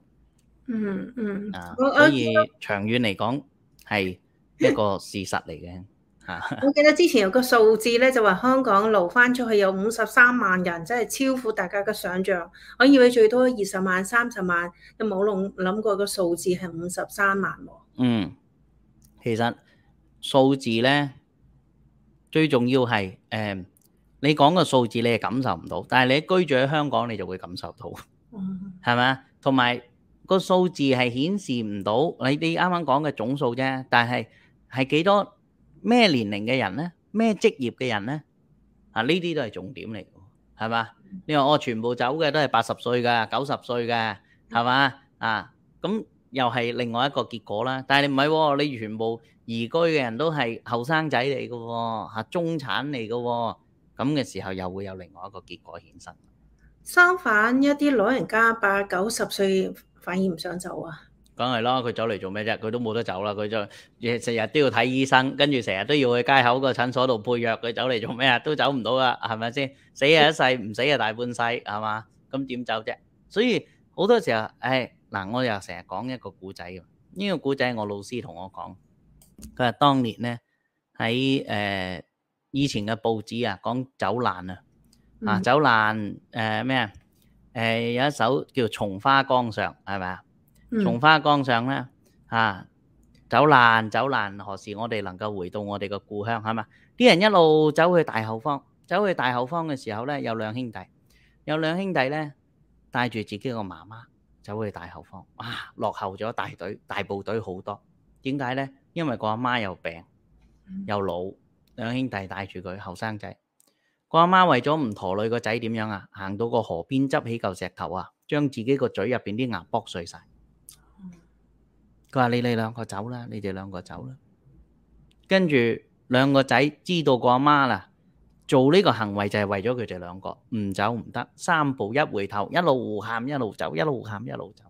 所以長遠嚟講係一個事實嚟嘅。 我記得之前有個數字咧，就話香港流翻出去有53萬人，真係超乎大家嘅想象。我以為最多20萬、30萬，都冇諗過個數字係53萬喎。 其實數字咧最重要係你講個數字你係感受唔到，但係你居住喺香港你就會感受到，係咪？同埋個數字係顯示唔到你啱啱講嘅總數啫，但係係幾多咩年齡嘅人咧？咩職業嘅人咧？呢啲都係重點嚟嘅，係嘛？你話我全部走嘅都係80歲㗎、90歲㗎，係嘛？咁又係另外一個結果啦。但係你唔係喎，你全部移居嘅人都係後生仔嚟嘅喎，中產嚟嘅喎。咁嘅時候又會有另外一個結果衍生。 相反，一啲老人家80、90歲反而唔想走啊。 梗係啦，佢走嚟做咩啫？佢都冇得走啦，佢就成日都要睇醫生，跟住成日都要去街口個診所度配藥，佢走嚟做咩啊？都走唔到噶，係咪先？死係一世，唔死係大半世，係嘛？咁點走啫？所以好多時候，我又成日講一個古仔嘅，呢個古仔我老師同我講，佢話當年咧喺以前嘅報紙講走難走難咩啊？有一首叫《松花江上》，係咪啊？松花江上咧走難何時我哋能夠回到我哋嘅故鄉，係嘛？啲人一路走去大後方嘅時候咧，有兩兄弟， 有兩兄弟咧帶住自己個媽媽走去大後方，落後咗大部隊好多。點解咧？因為個阿媽又病又老，兩兄弟帶住佢後生仔。個阿媽為咗唔拖累個仔點樣啊？行到個河邊執起嚿石頭啊，將自己個嘴入邊啲牙剝碎晒。佢話：你哋兩個走啦，你哋兩個走啦。跟住兩個仔知道個阿媽啦，做呢個行為就係為咗佢哋兩個，唔走唔得，三步一回頭，一路喊一路走，一路喊一路走，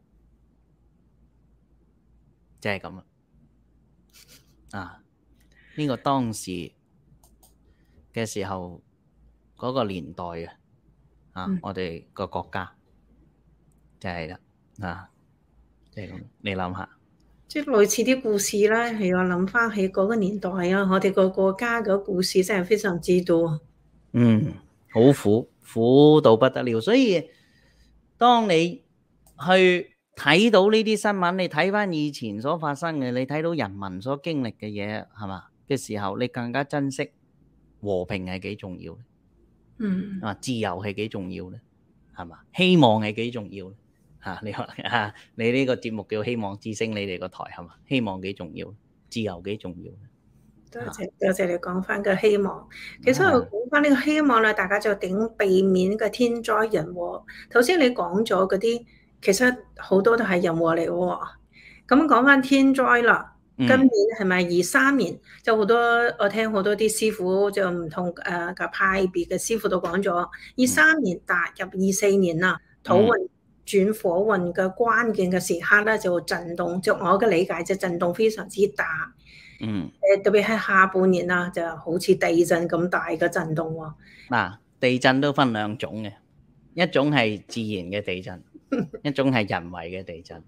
即係咁啊！呢個當時嘅時候嗰個年代我哋個國家就係啦即係咁，你諗下。 即係類似啲故事啦，係我諗翻起嗰個年代啊，我哋個國家嘅故事真係非常之多。 好苦到不得了。所以當你去睇到呢啲新聞，你睇翻以前所發生嘅，你睇到人民所經歷嘅嘢，係嘛嘅時候，你更加珍惜和平係幾重要咧？自由係幾重要咧？係嘛？希望係幾重要咧？你話你呢個節目叫希望之聲，你哋個台係嘛？希望幾重要，自由幾重要。 多謝你講翻個希望。其實我講翻呢個希望咧，大家就點避免個天災人禍。頭先你講咗嗰啲，其實好多都係人禍嚟喎。咁講翻天災啦，今年係咪23年？就好多我聽好多啲師傅就唔同嘅派別嘅師傅都講咗，23年踏入24年啦，土運轉火運嘅關鍵嘅時刻咧，就震動，就我嘅理解就震動非常之大。特別係下半年啦，就好似地震咁大嘅震動喎。 地震都分兩種嘅，一種係自然嘅地震，一種係人為嘅地震。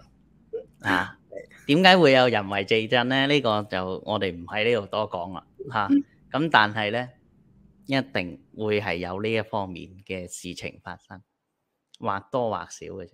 點解會有人為地震咧？呢個就我哋唔喺呢度多講啦。咁但係咧，一定會係有呢一方面嘅事情發生。或多或少嘅啫，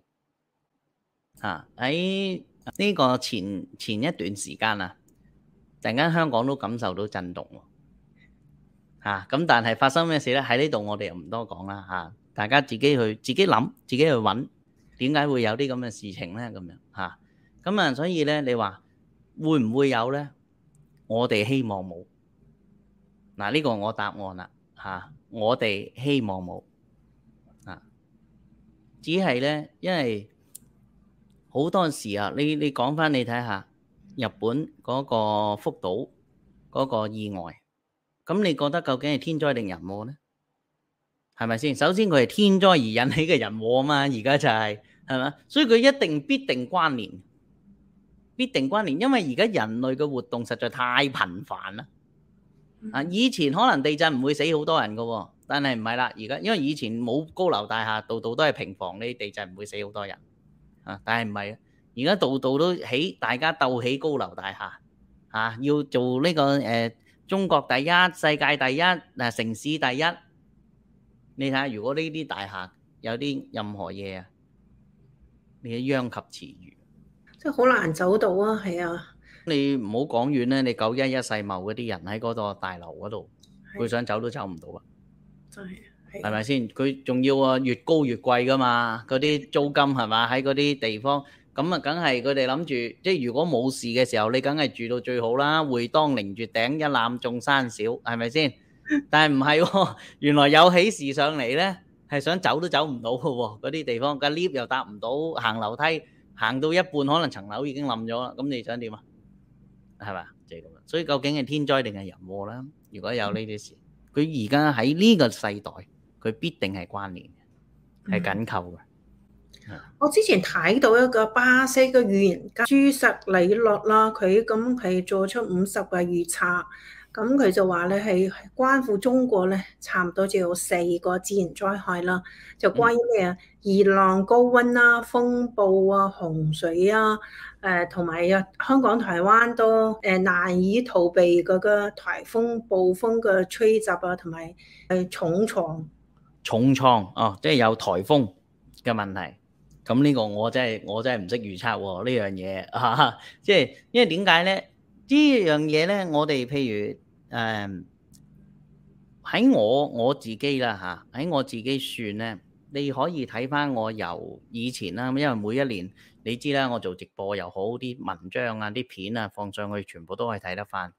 喺呢個前一段時間突然間香港都感受到震動喎，咁但係發生咩事咧？喺呢度我哋又唔多講啦，大家自己諗，自己去揾點解會有啲咁嘅事情咧？咁樣咁所以咧，你話會唔會有咧？我哋希望冇，呢個我答案啦，我哋希望冇。只係咧，因為好多時你講翻你睇下日本嗰個福島嗰個意外，咁你覺得究竟係天災定人禍咧？係咪先？首先佢係天災而引起嘅人禍啊嘛，而家就係咪？所以佢一定必定關聯，因為而家人類嘅活動實在太頻繁啦。以前可能地震唔會死好多人噶喎。但係唔係啦，而家因為以前冇高樓大廈，度度都係平房，呢地震唔會死好多人但係唔係，而家度度都起，大家鬥起高樓大廈要做呢個中國第一、世界第一、城市第一。你睇下，如果呢啲大廈有啲任何嘢你殃及池魚， 即係好難走到啊！係啊， 你唔好講遠咧，你911世貿嗰啲人喺嗰個大樓嗰度，佢想走都走唔到啊！係咪先？佢仲要越高越貴噶嘛？嗰啲租金係嘛？喺嗰啲地方咁梗係佢哋諗住，即係如果冇事嘅時候，你梗係住到最好啦。會當凌絕頂，一覽眾山小，係咪先？但係唔係喎，原來有喜事上嚟咧，係想走都走唔到嘅喎。嗰啲地方個 lift 又搭唔到，行樓梯行到一半，可能層樓已經冧咗啦。咁你想點啊？係嘛？就係咁啦。所以究竟係天災定係人禍啦？如果有呢啲事。佢而家喺呢個世代，佢必定係關聯嘅，係緊扣嘅。 我之前睇到一個巴西嘅預言家朱實里諾啦，佢咁係做出50個預測，咁佢就話咧係關乎中國咧，差唔多就有4個自然災害啦，就關於咩啊？熱浪、高溫啦、風暴啊、洪水啊，同埋香港、台灣都難以逃避嗰個颱風、暴風嘅吹襲啊，同埋重創即係有颱風嘅問題。咁呢個我真係唔識預測喎呢樣嘢即係因為點解咧？呢樣嘢咧，我哋譬如喺我自己啦喺我自己算咧， 你可以睇翻我由以前啦，因為每一年你知啦，我做直播又好，啲文章啊、啲片啊放上去，全部都可以睇得翻。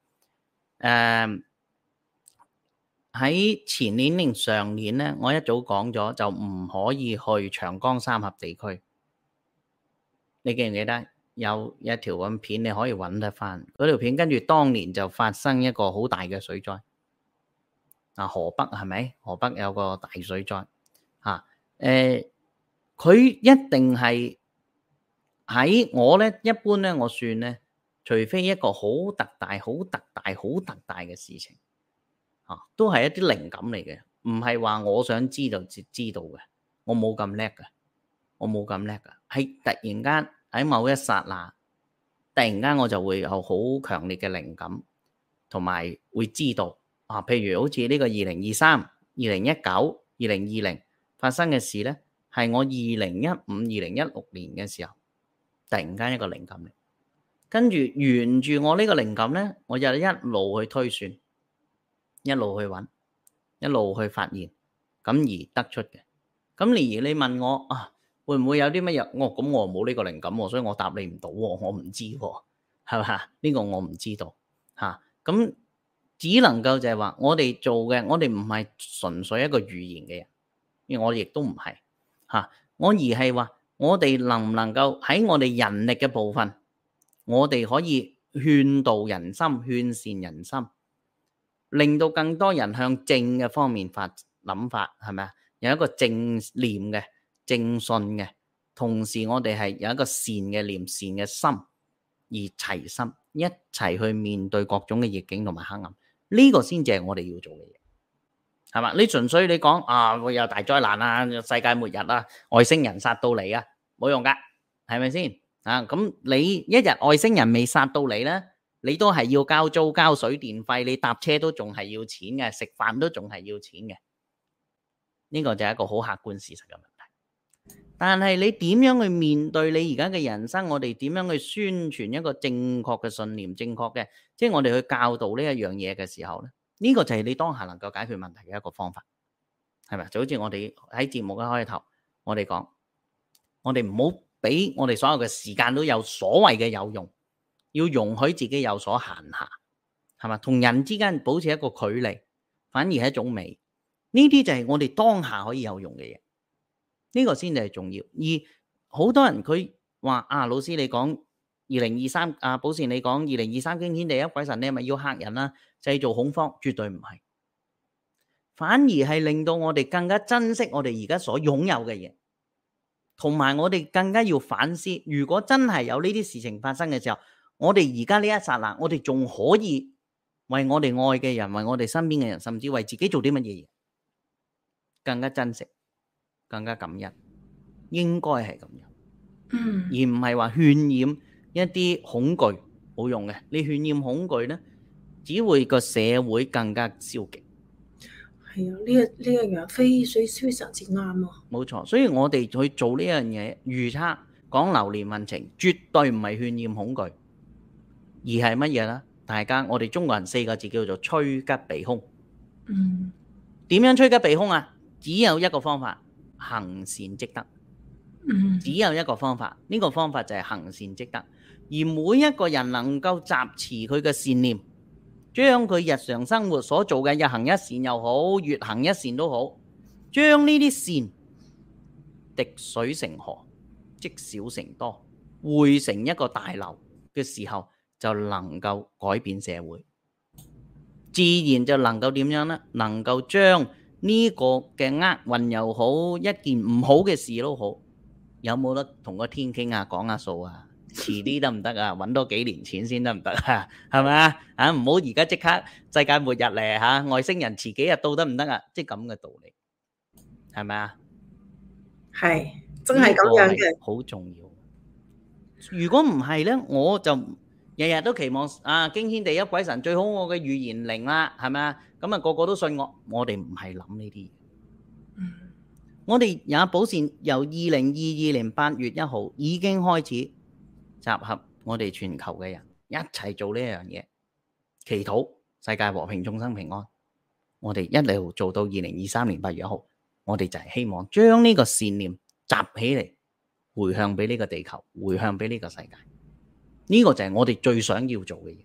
喺前年定上年咧，我一早講咗就唔可以去長江三峽地區。你記唔記得有一條咁片你可以揾得翻？嗰條片跟住當年就發生一個好大嘅水災。河北係咪？河北有個大水災嚇。佢一定係喺我咧，一般咧，我算咧，除非一個好特大嘅事情。都係一啲靈感嚟嘅，唔係話我想知道就知道嘅，我冇咁叻嘅，係突然間喺某一剎那，突然間我就會有好強烈嘅靈感，同埋會知道譬如好似呢個2023、2019、2020發生嘅事咧，係我2015、2016年嘅時候，突然間一個靈感嚟，跟住沿住我呢個靈感咧，我就一路去推算。一路去揾，一路去發現，咁而得出嘅。咁而你問我會唔會有啲乜嘢？咁我冇呢個靈感喎，所以我答你唔到喎，我唔知喎，係嘛？呢個我唔知道嚇。咁只能夠就係話，我哋做嘅，我哋唔係純粹一個預言嘅人，因為我亦都唔係嚇。我而係話，我哋能唔能夠喺我哋人力嘅部分，我哋可以勸導人心、勸善人心。令到更多人向正嘅方面諗法，係咪啊？有一個正念嘅、正信嘅，同時我哋係有一個善嘅念、善嘅心，而齊心一齊去面對各種嘅逆境同埋黑暗，呢個先至係我哋要做嘅嘢，係嘛？你純粹你講會有大災難啊、世界末日啊、外星人殺到嚟啊，冇用噶，係咪先？咁你一日外星人未殺到嚟咧？你都係要交租、交水電費，你搭車都仲係要錢嘅，食飯都仲係要錢嘅。呢個就係一個好客觀事實嘅問題。但係你點樣去面對你而家嘅人生？我哋點樣去宣傳一個正確嘅信念、正確嘅，即係我哋去教導呢一樣嘢嘅時候咧，呢個就係你當下能夠解決問題嘅一個方法，係咪？就好似我哋喺節目嘅開頭，我哋講，我哋唔好俾我哋所有嘅時間都有所謂嘅有用。要容許自己有所閒暇，係嘛？同人之間保持一個距離，反而係一種美。呢啲就係我哋當下可以有用嘅嘢，呢個先至係重要。而好多人佢話老師你講2023寶善你講2023驚天地泣鬼神，你係咪要嚇人啊？製造恐慌？絕對唔係，反而係令到我哋更加珍惜我哋而家所擁有嘅嘢，同埋我哋更加要反思，如果真係有呢啲事情發生嘅時候，我哋而家呢一剎那，我哋仲可以為我哋愛嘅人，為我哋身邊嘅人，甚至為自己做啲乜嘢嘢，更加珍惜，更加感恩，應該係咁樣，而唔係話渲染一啲恐懼，冇用嘅。你渲染恐懼咧，只會個社會更加消極。 係啊，呢一樣非常之啱啊！ 冇錯，所以我哋去做呢樣嘢預測講流年運程，絕對唔係渲染恐懼。而係乜嘢呢？大家我哋中國人4個字叫做趨吉避凶。點樣趨吉避凶啊？只有一個方法，行善積德。只有一個方法，呢個方法就係行善積德。而每一個人能夠集持佢嘅善念，將佢日常生活所做嘅日行一善又好，月行一善都好，將呢啲善滴水成河，積少成多，匯成一個大流嘅時候，就能夠改變社會，自然就能夠點樣呢？能夠將呢個嘅厄運又好，一件唔好嘅事都好，有冇得同個天傾下講下數啊？遲啲得唔得啊？揾多幾年錢先得唔得啊？係咪啊？唔好而家即刻世界末日嚟外星人遲幾日到得唔得啊？即係咁嘅道理，係咪啊？ 係真係咁樣嘅， 好重要。如果唔係呢，我就日日都期望驚天地泣鬼神，最好我嘅預言靈啦，係咪啊？咁個個都信我。我哋唔係諗呢啲嘢。我哋也寶善由2022年8月1號已經開始集合我哋全球嘅人一齊做呢樣嘢，祈禱世界和平，眾生平安。我哋一路做到2023年8月1號， 我哋就係希望將呢個善念集起嚟，回向俾呢個地球，回向俾呢個世界。呢個就係我哋最想要做嘅嘢，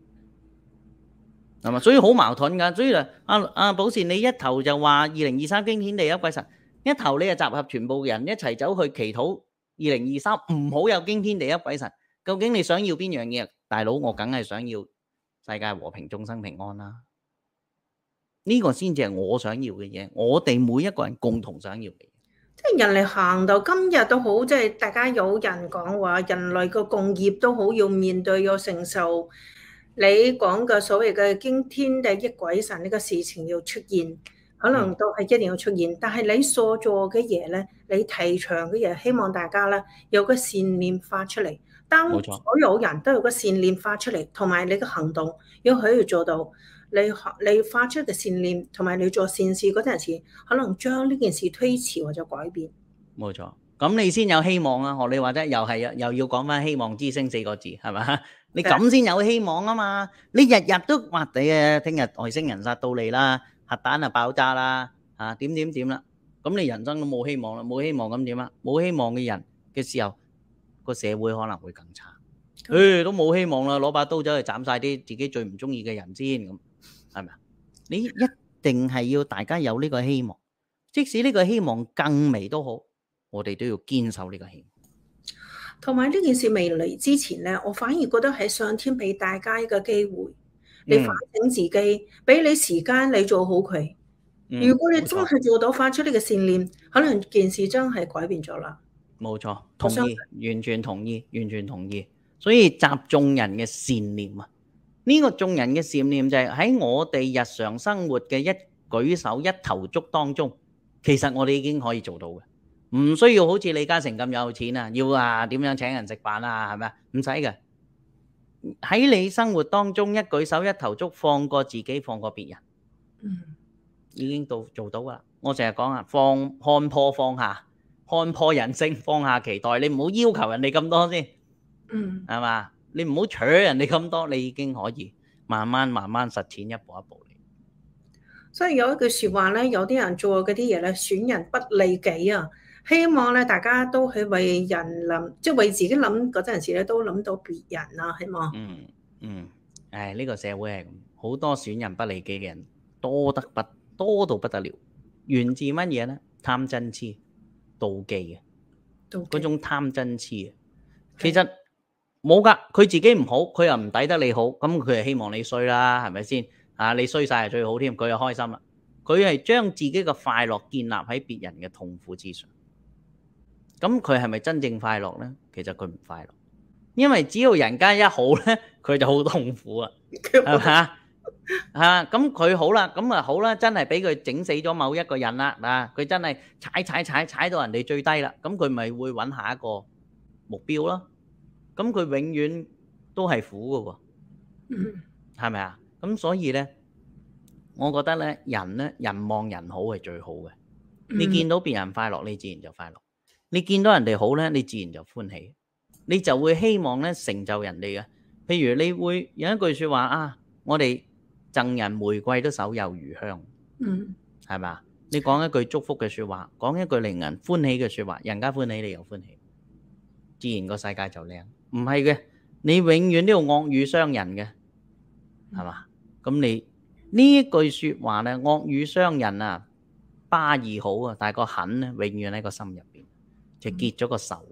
係嘛？所以好矛盾㗎。所以阿寶善，你一頭就話2023驚天地泣鬼神，一頭你就集合全部人一齊走去祈禱2023唔好有驚天地泣鬼神。究竟你想要邊樣嘢？大佬，我梗係想要世界和平，眾生平安啦。呢個先至係我想要嘅嘢，我哋每一個人共同想要嘅嘢。 即係人類行到今日都好，即係大家有人講話，人類個共業都好要面對要承受。你講嘅所謂嘅驚天地泣鬼神呢個事情要出現，可能都係一定要出現。但係你所做嘅嘢咧，你提倡嘅嘢，希望大家咧有個善念發出嚟。當所有人都有個善念發出嚟，同埋你嘅行動要可以做到，你發出嘅善念同埋你做善事嗰陣時，可能將呢件事推遲或者改變。 冇錯，咁你先有希望啊！學你話齋，又要講翻希望之星4個字，係嘛？你咁先有希望啊嘛！你日日都話你聽日外星人殺到你啦，核彈啊爆炸啦，點啦，咁你人生都冇希望啦，冇希望咁點啊？冇希望嘅人嘅時候，個社會可能會更差。都冇希望啦，攞把刀走去斬晒啲自己最唔中意嘅人先，咁係咪啊？你一定係要大家有呢個希望，即使呢個希望更微都好，我哋都要堅守呢個希望。 同埋呢件事未嚟之前咧，我反而覺得係上天俾大家一個機會，你反省自己，俾你時間你做好佢。如果你真係做到發出呢個善念，可能件事真係改變咗啦。 冇錯，同意，完全同意，完全同意。所以集眾人嘅善念啊，呢個眾人嘅善念就係喺我哋日常生活嘅一舉手一投足當中，其實我哋已經可以做到嘅，唔需要好似李嘉誠咁有錢啊，要點樣請人食飯啊，係咪啊？唔使嘅，喺你生活當中一舉手一投足，放過自己，放過別人，已經做到噶啦。我成日講啊，看破放下，看破人性，放下期待，你唔好要求人哋咁多先。係嘛？你唔好取人哋咁多，你已經可以慢慢實踐，一步一步嚟。 所以有一句說話咧，有啲人做嗰啲嘢咧，損人不利己啊！希望咧大家都係為人諗，即係為自己諗嗰陣時咧，都諗到別人啊，係嘛？ 呢個社會係咁，好多損人不利己嘅人多到不得了。源自乜嘢咧？貪嗔痴、妒忌嘅，嗰種貪嗔痴啊，其實。冇噶，佢自己唔好，佢又唔抵得你好，咁佢係希望你衰啦，係咪先？你衰晒係最好添，佢又開心啦。佢係將自己嘅快樂建立喺別人嘅痛苦之上，咁佢係咪真正快樂咧？其實佢唔快樂，因為只要人家一好咧，佢就好痛苦啊，係咪？咁佢好啦，咁啊好啦，真係俾佢整死咗某一個人啦，佢真係踩到人哋最低啦，咁佢咪會揾下一個目標咯。咁佢永遠都係苦嘅喎，係咪啊？咁所以咧，我覺得咧，人望人好係最好嘅。你見到別人快樂，你自然就快樂；你見到人哋好咧，你自然就歡喜，你就會希望咧成就人哋嘅。譬如你會有一句説話啊，我哋贈人玫瑰都手有餘香，係咪啊？你講一句祝福嘅説話，講一句令人歡喜嘅説話，人家歡喜你又歡喜，自然個世界就靚。唔係嘅，你永遠都要惡語傷人嘅，係嘛？咁你呢一句説話咧，惡語傷人啊，巴義好啊，但係個狠咧，永遠喺個心入邊，就結咗個仇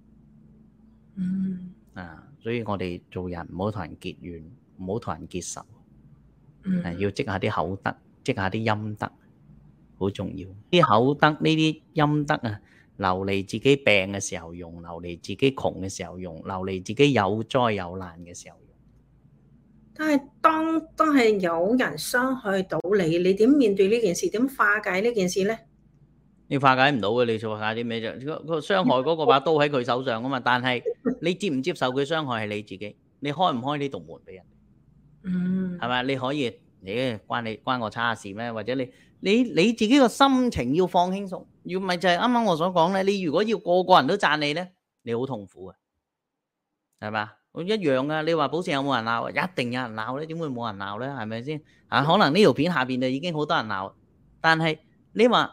啊！所以我哋做人唔好同人結怨，唔好同人結仇，要積下啲口德，積下啲陰德，好重要。啲口德呢啲陰德啊，留嚟自己病嘅時候用，留嚟自己窮嘅時候用，留嚟自己有災有難嘅時候用。 但係當係有人傷害到你，你點面對呢件事？點化解呢件事咧？ 你化解唔到嘅，你做下啲咩啫？個傷害嗰個把刀喺佢手上啊嘛，但係你接唔接受佢傷害係你自己，你開唔開呢道門俾人？係咪？你可以，關我叉事咩？或者你自己個心情要放輕鬆，要咪就係啱啱我所講咧。你如果要個個人都讚你咧，你好痛苦嘅，係嘛？一樣啊！你話寶善有冇人鬧？一定有人鬧咧，點會冇人鬧咧？係咪先？可能呢條片下邊就已經好多人鬧，但係你話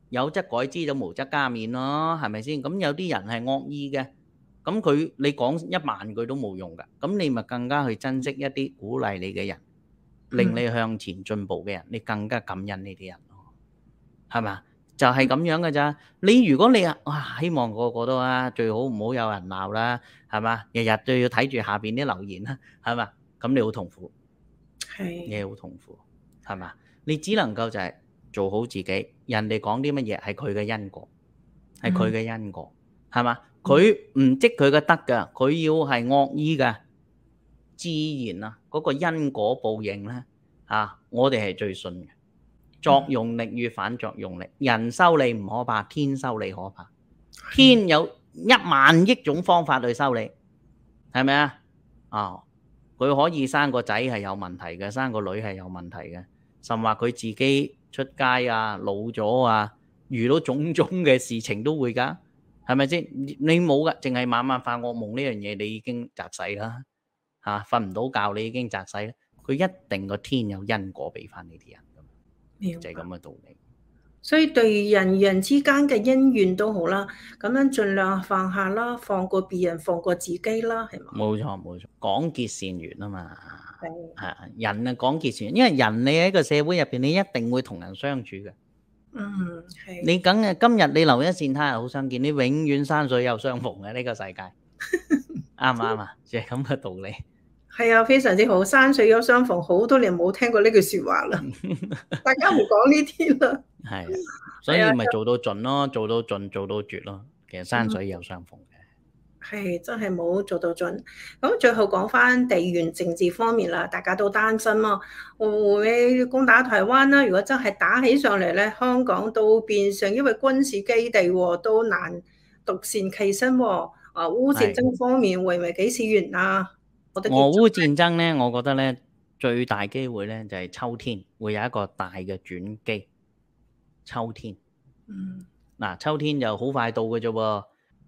有則改之，就無則加勉咯，係咪先？咁有啲人係惡意嘅，咁你講1萬句都冇用㗎，咁你咪更加去珍惜一啲鼓勵你嘅人，令你向前進步嘅人，你更加感恩呢啲人咯，係咪？就係咁樣㗎咋。如果你希望個個都最好唔好有人鬧啦，係嘛？日日都要睇住下邊啲留言啦，係嘛？咁你好痛苦，你好痛苦，係嘛？你只能夠就係做好自己，人哋講啲乜嘢係佢嘅因果，係佢嘅因果，係嘛？佢唔積佢嘅德㗎，佢要係惡意㗎，自然嗰個因果報應咧我哋係最信嘅。作用力與反作用力，人修你唔可怕，天修你可怕。天有1萬億種方法去修你，係咪啊？佢可以生個仔係有問題嘅，生個女係有問題嘅，甚或佢自己出街老咗遇到種種嘅事情都會㗎，係咪先？你冇㗎，淨係晚晚發惡夢呢樣嘢，你已經窒死啦瞓唔到覺，你已經窒死啦。佢一定個天有因果俾翻呢啲人。就係咁嘅道理， 所以對人與人之間嘅恩怨都好啦，咁樣盡量放下啦，放過別人，放過自己啦，係嘛？冇錯，廣結善緣啊嘛，係人廣結善緣，因為人你喺個社會入邊，你一定會同人相處嘅。 係。 你梗係今日你留一線，他日好相見，你永遠山水有相逢嘅呢個世界，啱唔啱啊？就係咁嘅道理。 係啊，非常之好。山水有相逢，好多年冇聽過呢句說話啦。大家唔講呢啲啦。 係，所以咪做到盡咯，做到盡，做到絕咯。其實山水有相逢嘅。 係真係冇做到盡。咁最後講翻地緣政治方面啦，大家都擔心咯，會攻打台灣啦。如果真係打起上嚟咧，香港都變成因為軍事基地都難獨善其身。烏戰爭方面會唔會幾時完啊？ 俄烏戰爭咧，我覺得咧最大機會咧就係秋天會有一個大嘅轉機。秋天，秋天就好快到嘅啫喎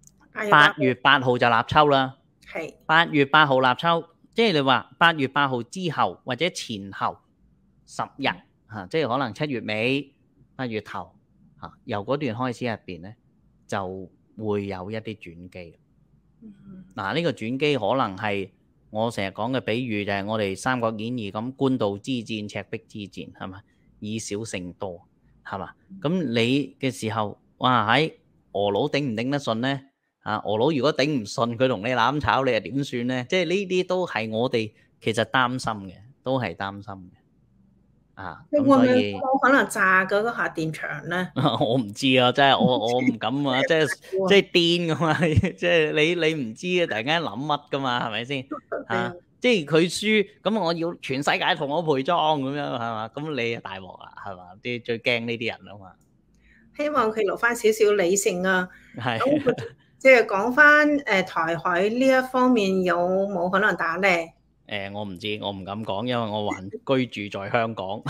，8月8號就立秋啦。 係 8月8號立秋，即係你話8月8號之後或者前後10日即係可能7月尾8月頭由嗰段開始入邊咧就會有一啲轉機。呢個轉機可能係。我成日講嘅比喻就係我哋《三國演義》咁，官渡之戰、赤壁之戰，係嘛？以少勝多，係嘛？咁你嘅時候，喺俄佬頂唔頂得順咧？俄佬如果頂唔順，佢同你攬炒，你又點算咧？即係呢啲都係我哋其實擔心嘅，都係擔心嘅。咁所以可能炸嗰個核電廠咧？ 我唔知啊，真係我唔敢啊，即係癲噶嘛，即係你唔知啊，突然間諗乜噶嘛，係咪先？即係佢輸，咁我要全世界同我陪葬咁樣，係嘛？咁你大鑊啦，係嘛？啲最驚呢啲人啊嘛。 希望佢留翻少少理性啊。 係。 即係講翻台海呢一方面有冇可能打咧？ 我唔知，我唔敢講，因為我還居住在香港。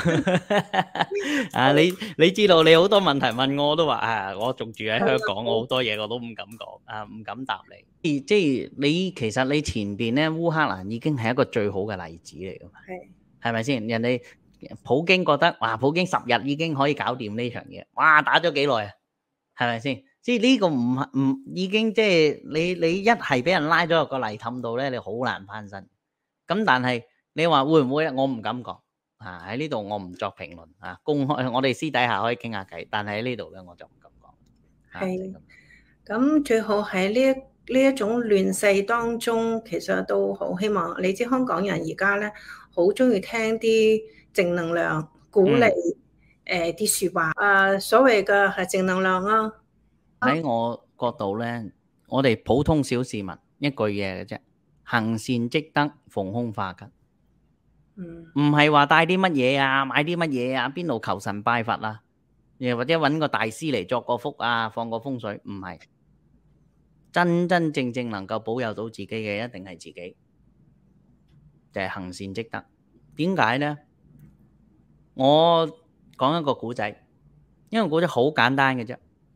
你知道你好多問題問我都話我仲住喺香港，我好多嘢我都唔敢講唔敢答你。即係其實你前邊咧烏克蘭已經係一個最好嘅例子嚟㗎嘛，係咪先？人哋普京覺得普京10日已經可以搞掂呢場嘢，打咗幾耐啊？係咪先？即係呢個唔已經即係你一係俾人拉咗入個泥凼度咧，你好難翻身。咁但係你話會唔會我唔敢講喺呢度，我唔作評論公開我哋私底下可以傾下偈，但係喺呢度咧我就唔敢講。 係咁最好喺呢一種亂世當中，其實都好希望你知香港人而家咧好中意聽啲正能量、鼓勵啲說話所謂嘅係正能量啊。 喺我角度咧，我哋普通小市民一句嘢嘅啫。行善積德，逢凶化吉。唔係話帶啲乜嘢買啲乜嘢邊度求神拜佛又或者揾個大師嚟作個福放個風水，唔係。真真正正能夠保佑到自己嘅，一定係自己，就係行善積德。點解呢？我講一個古仔，因為古仔好簡單嘅啫。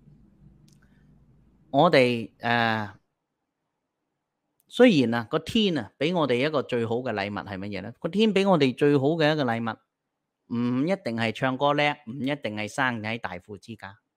我哋雖然個天俾我哋一個最好嘅禮物係乜嘢呢？個天俾我哋最好嘅一個禮物，唔一定係唱歌叻，唔一定係生喺大富之家，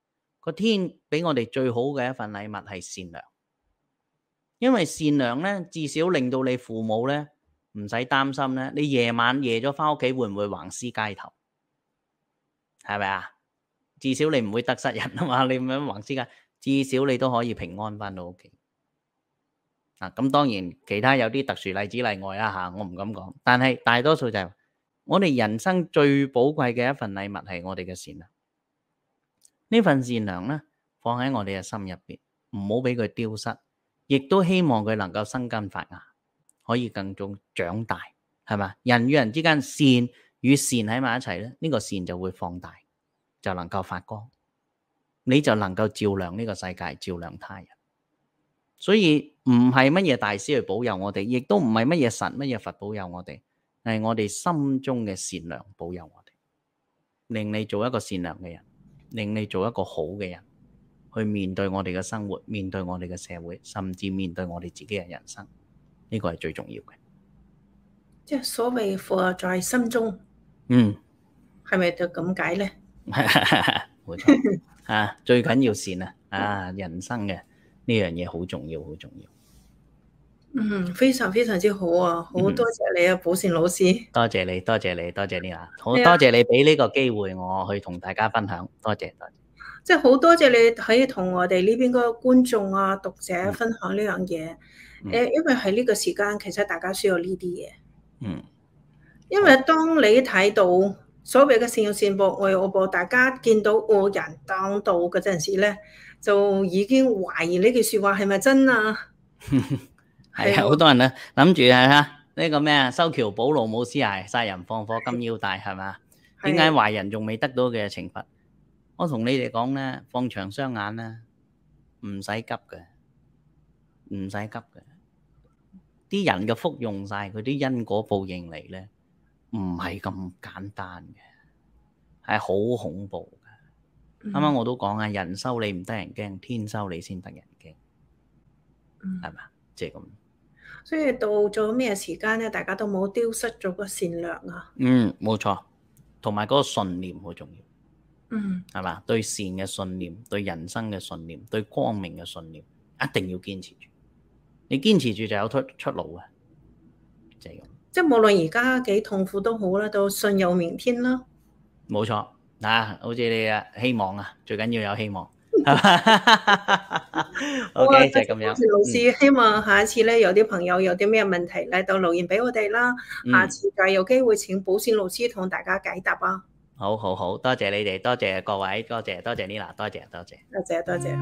個天俾我哋最好嘅一份禮物係善良，因為善良咧，至少令到你父母咧唔使擔心咧，你夜咗翻屋企會唔會橫屍街頭？係咪啊？至少你唔會得失人啊嘛，你咁樣橫屍街，至少你都可以平安翻到屋企。咁當然其他有啲特殊例子例外啦嚇，我唔敢講，但係大多數就係我哋人生最寶貴嘅一份禮物係我哋嘅善良。呢份善良咧，放喺我哋嘅心入邊，唔好俾佢丟失，亦都希望佢能夠生根發芽，可以更長大，係嘛？人與人之間善與善喺埋一齊咧，呢個善就會放大，就能夠發光，你就能夠照亮呢個世界，照亮他人。所以唔係乜嘢大師去保佑我哋，亦都唔係乜嘢神乜嘢佛保佑我哋，係我哋心中嘅善良保佑我哋，令你做一個善良嘅人，令你做一個好嘅人，去面對我哋嘅生活，面對我哋嘅社會，甚至面對我哋自己嘅人生，呢個係最重要嘅。 即係所謂佛在心中，係咪就咁解咧？ 冇錯最緊要善人生嘅呢樣嘢好重要，好重要。 非常非常之好啊！好多謝你啊，寶善老師。 多謝你，多謝你，多謝你啊！好多謝你俾呢個機會我去同大家分享，多謝多謝。 即係好多謝你可以同我哋呢邊嗰個觀眾啊、讀者分享呢樣嘢。因為喺呢個時間，其實大家需要呢啲嘢。因為當你睇到所謂嘅善有善報、惡有惡報，大家見到惡人當道嗰陣時咧，就已經懷疑呢句説話係咪真啊？ 係啊，好多人咧諗住呢個咩啊，修橋補路冇屍骸，殺人放火金腰帶，係嘛？點解壞人仲未得到嘅懲罰？我同你哋講咧，放長雙眼啦，唔使急嘅，唔使急嘅。啲人嘅福用晒，佢啲因果報應嚟咧，唔係咁簡單嘅，係好恐怖嘅。啱啱我都講啊，人收你唔得人驚，天收你先得人驚，係嘛？即係咁。 所以到咗咩時間咧，大家都冇丟失咗個善良啊。 冇錯，同埋嗰個信念好重要。係嘛？對善嘅信念，對人生嘅信念，對光明嘅信念，一定要堅持住。你堅持住就有出路嘅，就係咁。即係無論而家幾痛苦都好啦，都信有明天啦。 冇錯好似你希望啊，最緊要有希望。OK， 就係咁樣。 老師，希望下一次咧，有啲朋友有啲咩問題咧，都留言俾我哋啦。下次就有機會請寶善老師同大家解答啊。 好，多謝你哋，多謝各位，多謝 Nina，多謝。 多謝。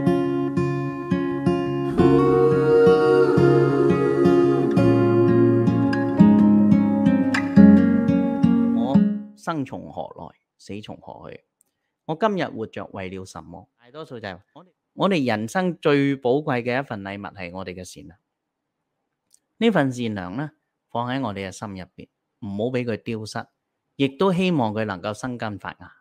我生從何來，死從何去？我今日活着為了什麼？大多數就係我哋人生最寶貴嘅一份禮物係我哋嘅善良。呢份善良咧，放喺我哋嘅心入邊，唔好俾佢丟失，亦都希望佢能夠生根發芽，